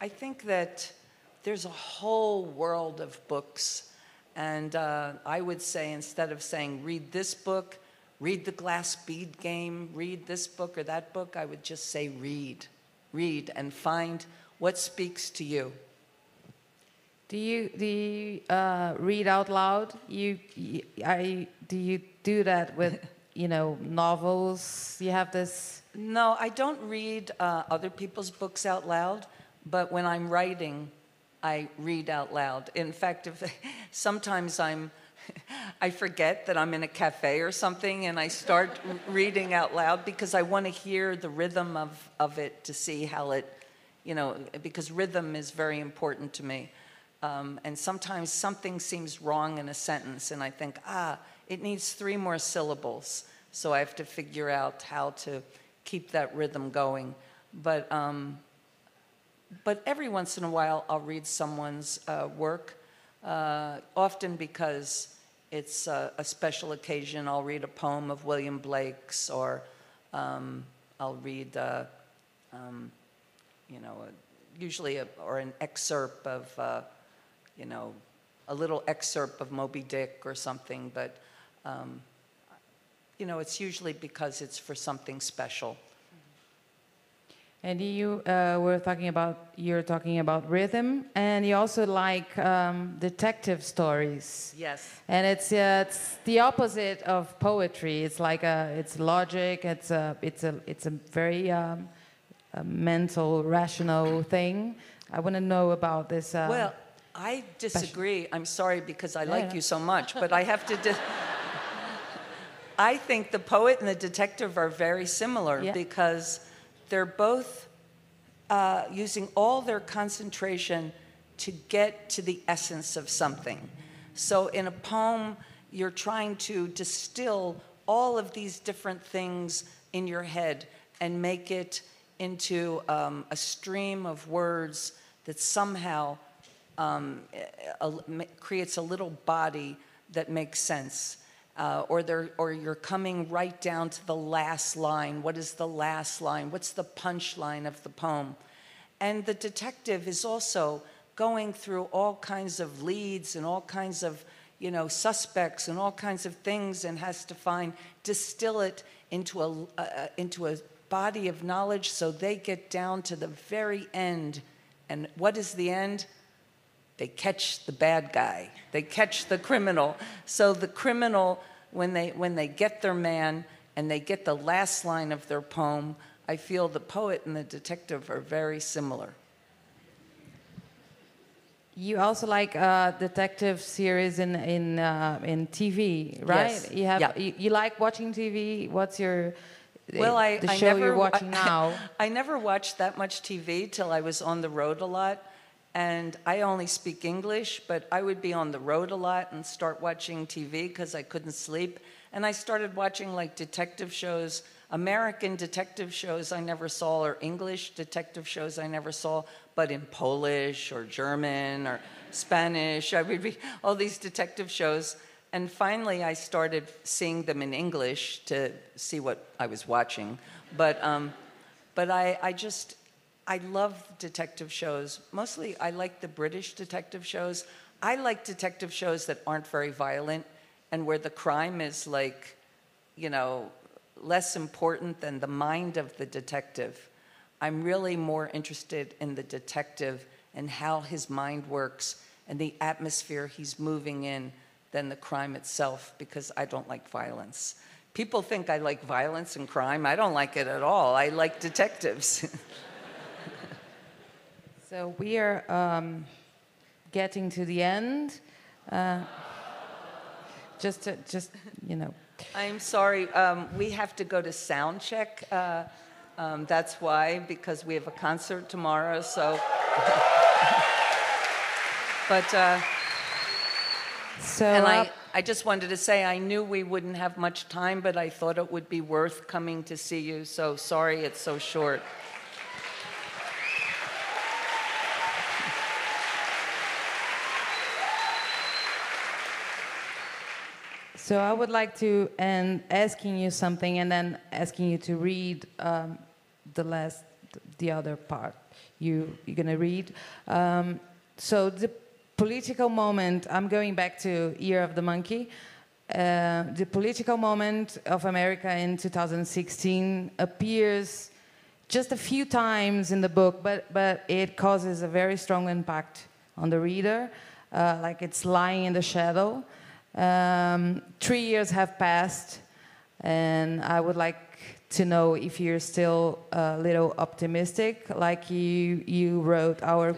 I think that there's a whole world of books. And uh, I would say, instead of saying, read this book, read The Glass Bead Game, read this book or that book, I would just say read. Read and find what speaks to you. Do you do you uh, read out loud? You, you I do you do that with you know novels? You have this. No, I don't read uh, other people's books out loud. But when I'm writing, I read out loud. In fact, if sometimes I'm, I forget that I'm in a cafe or something, and I start reading out loud because I want to hear the rhythm of of it to see how it, you know, because rhythm is very important to me. Um, and sometimes something seems wrong in a sentence, and I think, ah, it needs three more syllables. So I have to figure out how to keep that rhythm going. But um, but every once in a while, I'll read someone's uh, work, uh, often because it's uh, a special occasion. I'll read a poem of William Blake's, or um, I'll read, uh, um, you know, a, usually a, or an excerpt of. Uh, you know, a little excerpt of Moby Dick or something, but, um, you know, it's usually because it's for something special. And you uh, were talking about, you're talking about rhythm, and you also like um, detective stories. Yes. And it's uh, it's the opposite of poetry. It's like a, it's logic. It's a, it's a, it's a very um, a mental, rational thing. I want to know about this. Uh, well. I disagree. I'm sorry because I yeah, like yeah. you so much, but I have to... Di- I think the poet and the detective are very similar yeah. because they're both uh, using all their concentration to get to the essence of something. So in a poem, you're trying to distill all of these different things in your head and make it into um, a stream of words that somehow... Um, a, a, creates a little body that makes sense, uh, or they're, or you're coming right down to the last line. What is the last line? What's the punchline of the poem? And the detective is also going through all kinds of leads and all kinds of, you know, suspects and all kinds of things, and has to find, distill it into a uh, into a body of knowledge, so they get down to the very end. And what is the end? They catch the bad guy. They catch the criminal. So the criminal, when they when they get their man and they get the last line of their poem, I feel the poet and the detective are very similar. You also like uh, detective series in in uh, in T V, right? Yes. You have yeah. you, you like watching T V. What's your well, I, the I show never, you're watching I, now? I never watched that much T V till I was on the road a lot. And I only speak English, but I would be on the road a lot and start watching T V because I couldn't sleep. And I started watching like detective shows, American detective shows I never saw, or English detective shows I never saw, but in Polish or German or Spanish. I would read all these detective shows. And finally, I started seeing them in English to see what I was watching. But, um, but I, I just... I love detective shows. Mostly, I like the British detective shows. I like detective shows that aren't very violent and where the crime is, like, you know, less important than the mind of the detective. I'm really more interested in the detective and how his mind works and the atmosphere he's moving in than the crime itself, because I don't like violence. People think I like violence and crime. I don't like it at all. I like detectives. So we are um, getting to the end. Uh, just, to, just you know. I'm sorry. Um, we have to go to sound check. Uh, um, that's why, because we have a concert tomorrow. So, but uh, so and uh, I, I just wanted to say I knew we wouldn't have much time, but I thought it would be worth coming to see you. So sorry it's so short. So I would like to end asking you something, and then asking you to read um, the last the other part you, you're going to read. Um, so the political moment, I'm going back to Year of the Monkey. Uh, the political moment of America in two thousand sixteen appears just a few times in the book, but, but it causes a very strong impact on the reader, uh, like it's lying in the shadow. Um, three years have passed, and I would like to know if you're still a little optimistic, like you, you wrote our...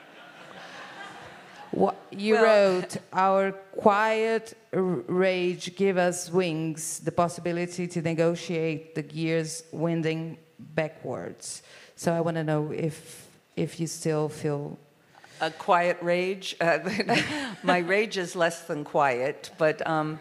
What you well, wrote, our quiet rage give us wings, the possibility to negotiate the gears winding backwards. So I want to know if if you still feel... A quiet rage? Uh, my rage is less than quiet, but... Um,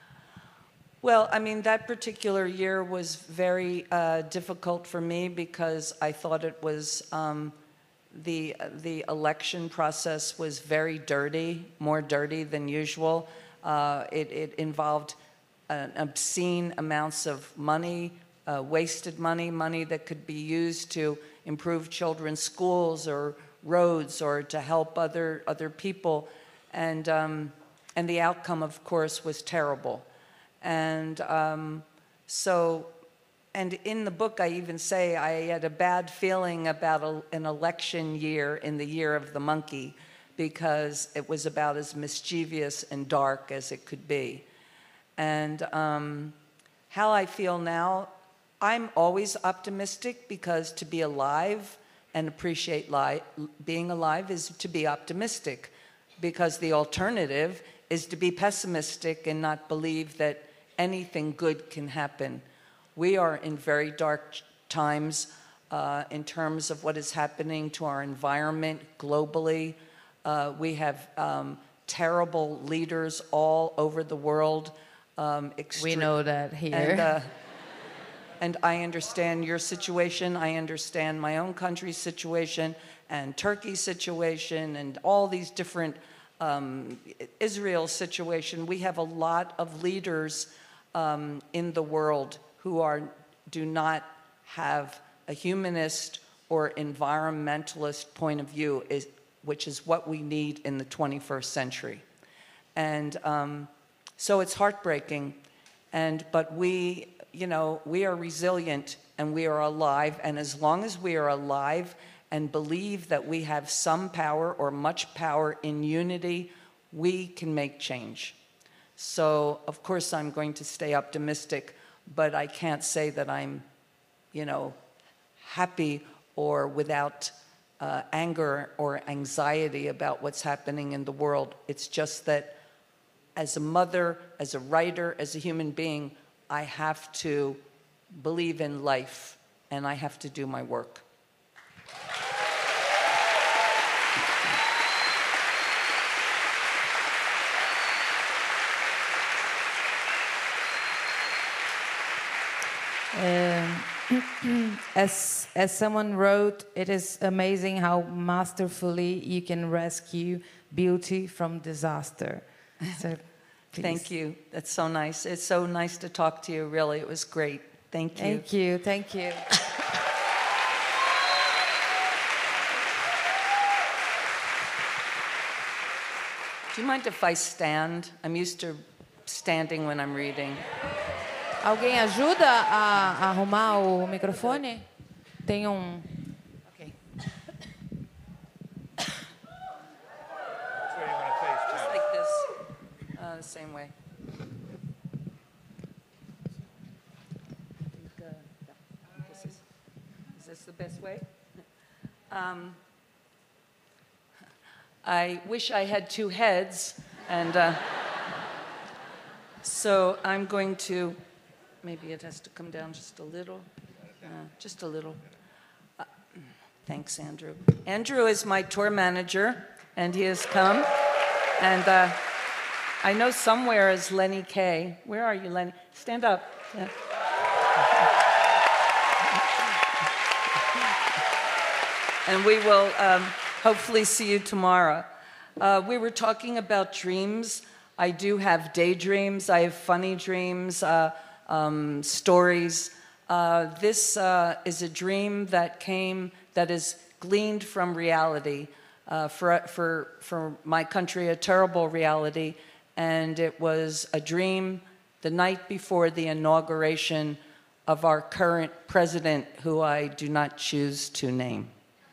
well, I mean, that particular year was very uh, difficult for me because I thought it was... Um, The, the election process was very dirty, more dirty than usual. Uh, it, it involved an obscene amounts of money, uh, wasted money, money that could be used to improve children's schools or roads or to help other, other people. And, um, and the outcome, of course, was terrible. And um, so... And in the book, I even say I had a bad feeling about a, an election year in the Year of the Monkey because it was about as mischievous and dark as it could be. And um, how I feel now, I'm always optimistic because to be alive and appreciate li- being alive is to be optimistic, because the alternative is to be pessimistic and not believe that anything good can happen. We are in very dark times uh, in terms of what is happening to our environment globally. Uh, we have um, terrible leaders all over the world. Um, we know that here. And, uh, and I understand your situation. I understand my own country's situation and Turkey's situation and all these different um, Israel's situation. We have a lot of leaders um, in the world who are, do not have a humanist or environmentalist point of view, is, which is what we need in the twenty-first century. And um, so it's heartbreaking, and, but we, you know, we are resilient and we are alive, and as long as we are alive and believe that we have some power or much power in unity, we can make change. So, of course, I'm going to stay optimistic, but I can't say that I'm, you know, happy or without uh, anger or anxiety about what's happening in the world. It's just that as a mother, as a writer, as a human being, I have to believe in life and I have to do my work. Um, as, as someone wrote, it is amazing how masterfully you can rescue beauty from disaster. So, thank you. That's so nice. It's so nice to talk to you, really. It was great. Thank you. Thank you. Thank you. Do you mind if I stand? I'm used to standing when I'm reading. Alguém ajuda a arrumar o microfone? Tem um... Okay. Just like this. Uh, the same way. This is, is this the best way? Um, I wish I had two heads, and uh, so I'm going to... Maybe it has to come down just a little. Uh, just a little. Uh, thanks, Andrew. Andrew is my tour manager, and he has come. And uh, I know somewhere is Lenny Kay. Where are you, Lenny? Stand up. Yeah. And we will um, hopefully see you tomorrow. Uh, we were talking about dreams. I do have daydreams. I have funny dreams. Uh, Um, stories. Uh, this uh, is a dream that came, that is gleaned from reality. Uh, for, for, for my country, a terrible reality. And it was a dream the night before the inauguration of our current president, who I do not choose to name.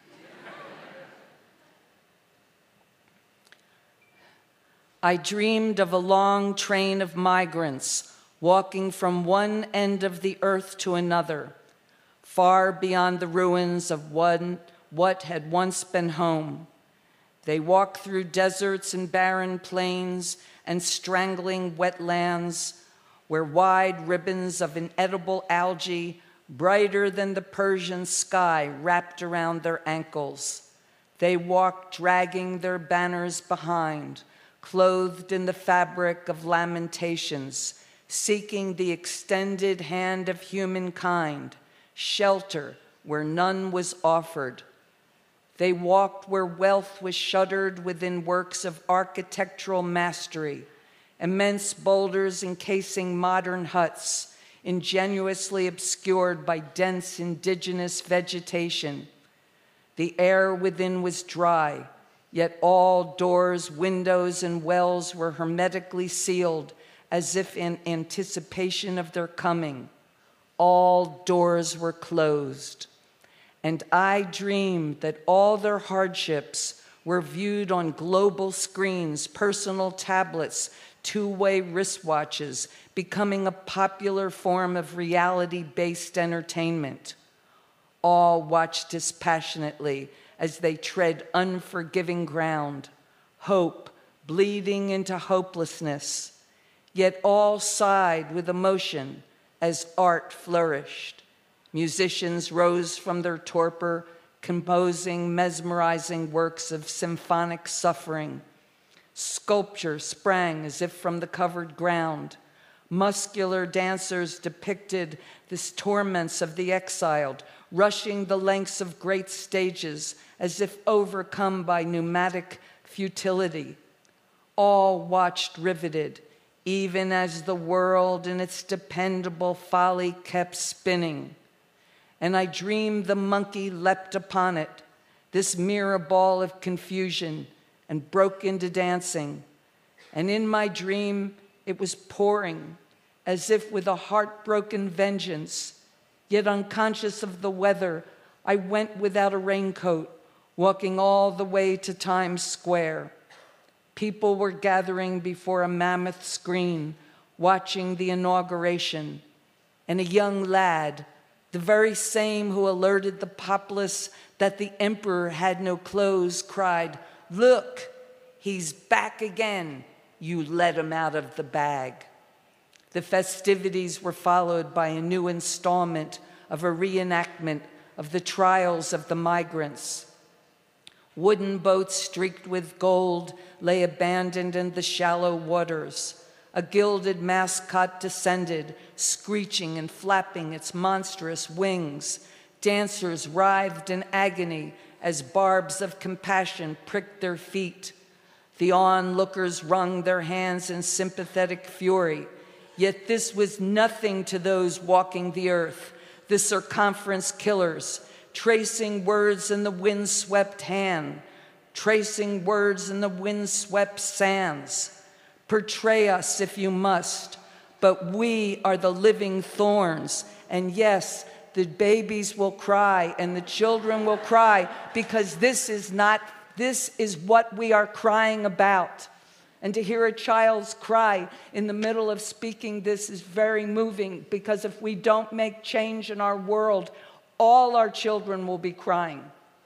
I dreamed of a long train of migrants walking from one end of the earth to another, far beyond the ruins of one, what had once been home. They walked through deserts and barren plains and strangling wetlands where wide ribbons of inedible algae, brighter than the Persian sky, wrapped around their ankles. They walked dragging their banners behind, clothed in the fabric of lamentations, seeking the extended hand of humankind, shelter where none was offered. They walked where wealth was shuttered within works of architectural mastery, immense boulders encasing modern huts, ingenuously obscured by dense indigenous vegetation. The air within was dry, yet all doors, windows, and wells were hermetically sealed, as if in anticipation of their coming. All doors were closed. And I dreamed that all their hardships were viewed on global screens, personal tablets, two-way wristwatches, becoming a popular form of reality-based entertainment. All watched dispassionately as they tread unforgiving ground, hope bleeding into hopelessness, yet all sighed with emotion as art flourished. Musicians rose from their torpor, composing mesmerizing works of symphonic suffering. Sculpture sprang as if from the covered ground. Muscular dancers depicted the torments of the exiled, rushing the lengths of great stages as if overcome by pneumatic futility. All watched riveted, even as the world in its dependable folly kept spinning. And I dreamed the monkey leapt upon it, this mirror ball of confusion, and broke into dancing. And in my dream, it was pouring, as if with a heartbroken vengeance. Yet unconscious of the weather, I went without a raincoat, walking all the way to Times Square. People were gathering before a mammoth screen, watching the inauguration. And a young lad, the very same who alerted the populace that the emperor had no clothes, cried, "Look, he's back again. You let him out of the bag." The festivities were followed by a new installment of a reenactment of the trials of the migrants. Wooden boats streaked with gold lay abandoned in the shallow waters. A gilded mascot descended, screeching and flapping its monstrous wings. Dancers writhed in agony as barbs of compassion pricked their feet. The onlookers wrung their hands in sympathetic fury. Yet this was nothing to those walking the earth, the circumference killers, tracing words in the wind-swept hand, tracing words in the wind-swept sands. Portray us if you must, but we are the living thorns. And yes, the babies will cry and the children will cry, because this is not, this is what we are crying about. And to hear a child's cry in the middle of speaking this is very moving, because if we don't make change in our world, all our children will be crying.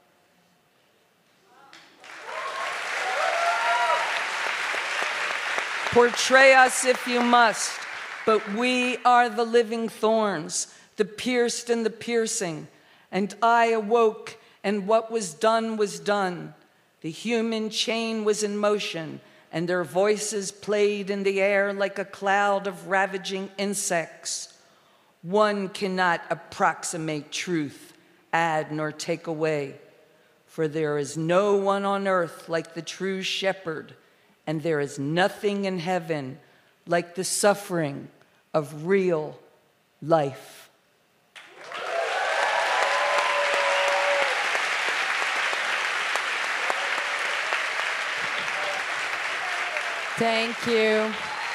Portray us if you must, but we are the living thorns, the pierced and the piercing. And I awoke, and what was done was done. The human chain was in motion, and their voices played in the air like a cloud of ravaging insects. One cannot approximate truth, add nor take away, for there is no one on earth like the true shepherd, and there is nothing in heaven like the suffering of real life. Thank you.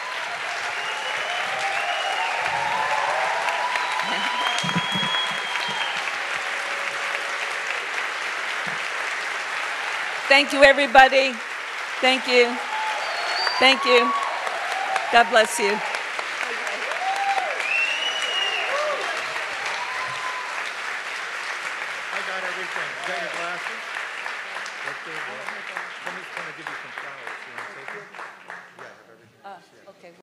Thank you, everybody. Thank you. Thank you. God bless you. I got everything. You got your glasses? That's good. Somebody's going to give you some flowers. You want to take them? Yeah, I have everything. Uh, okay.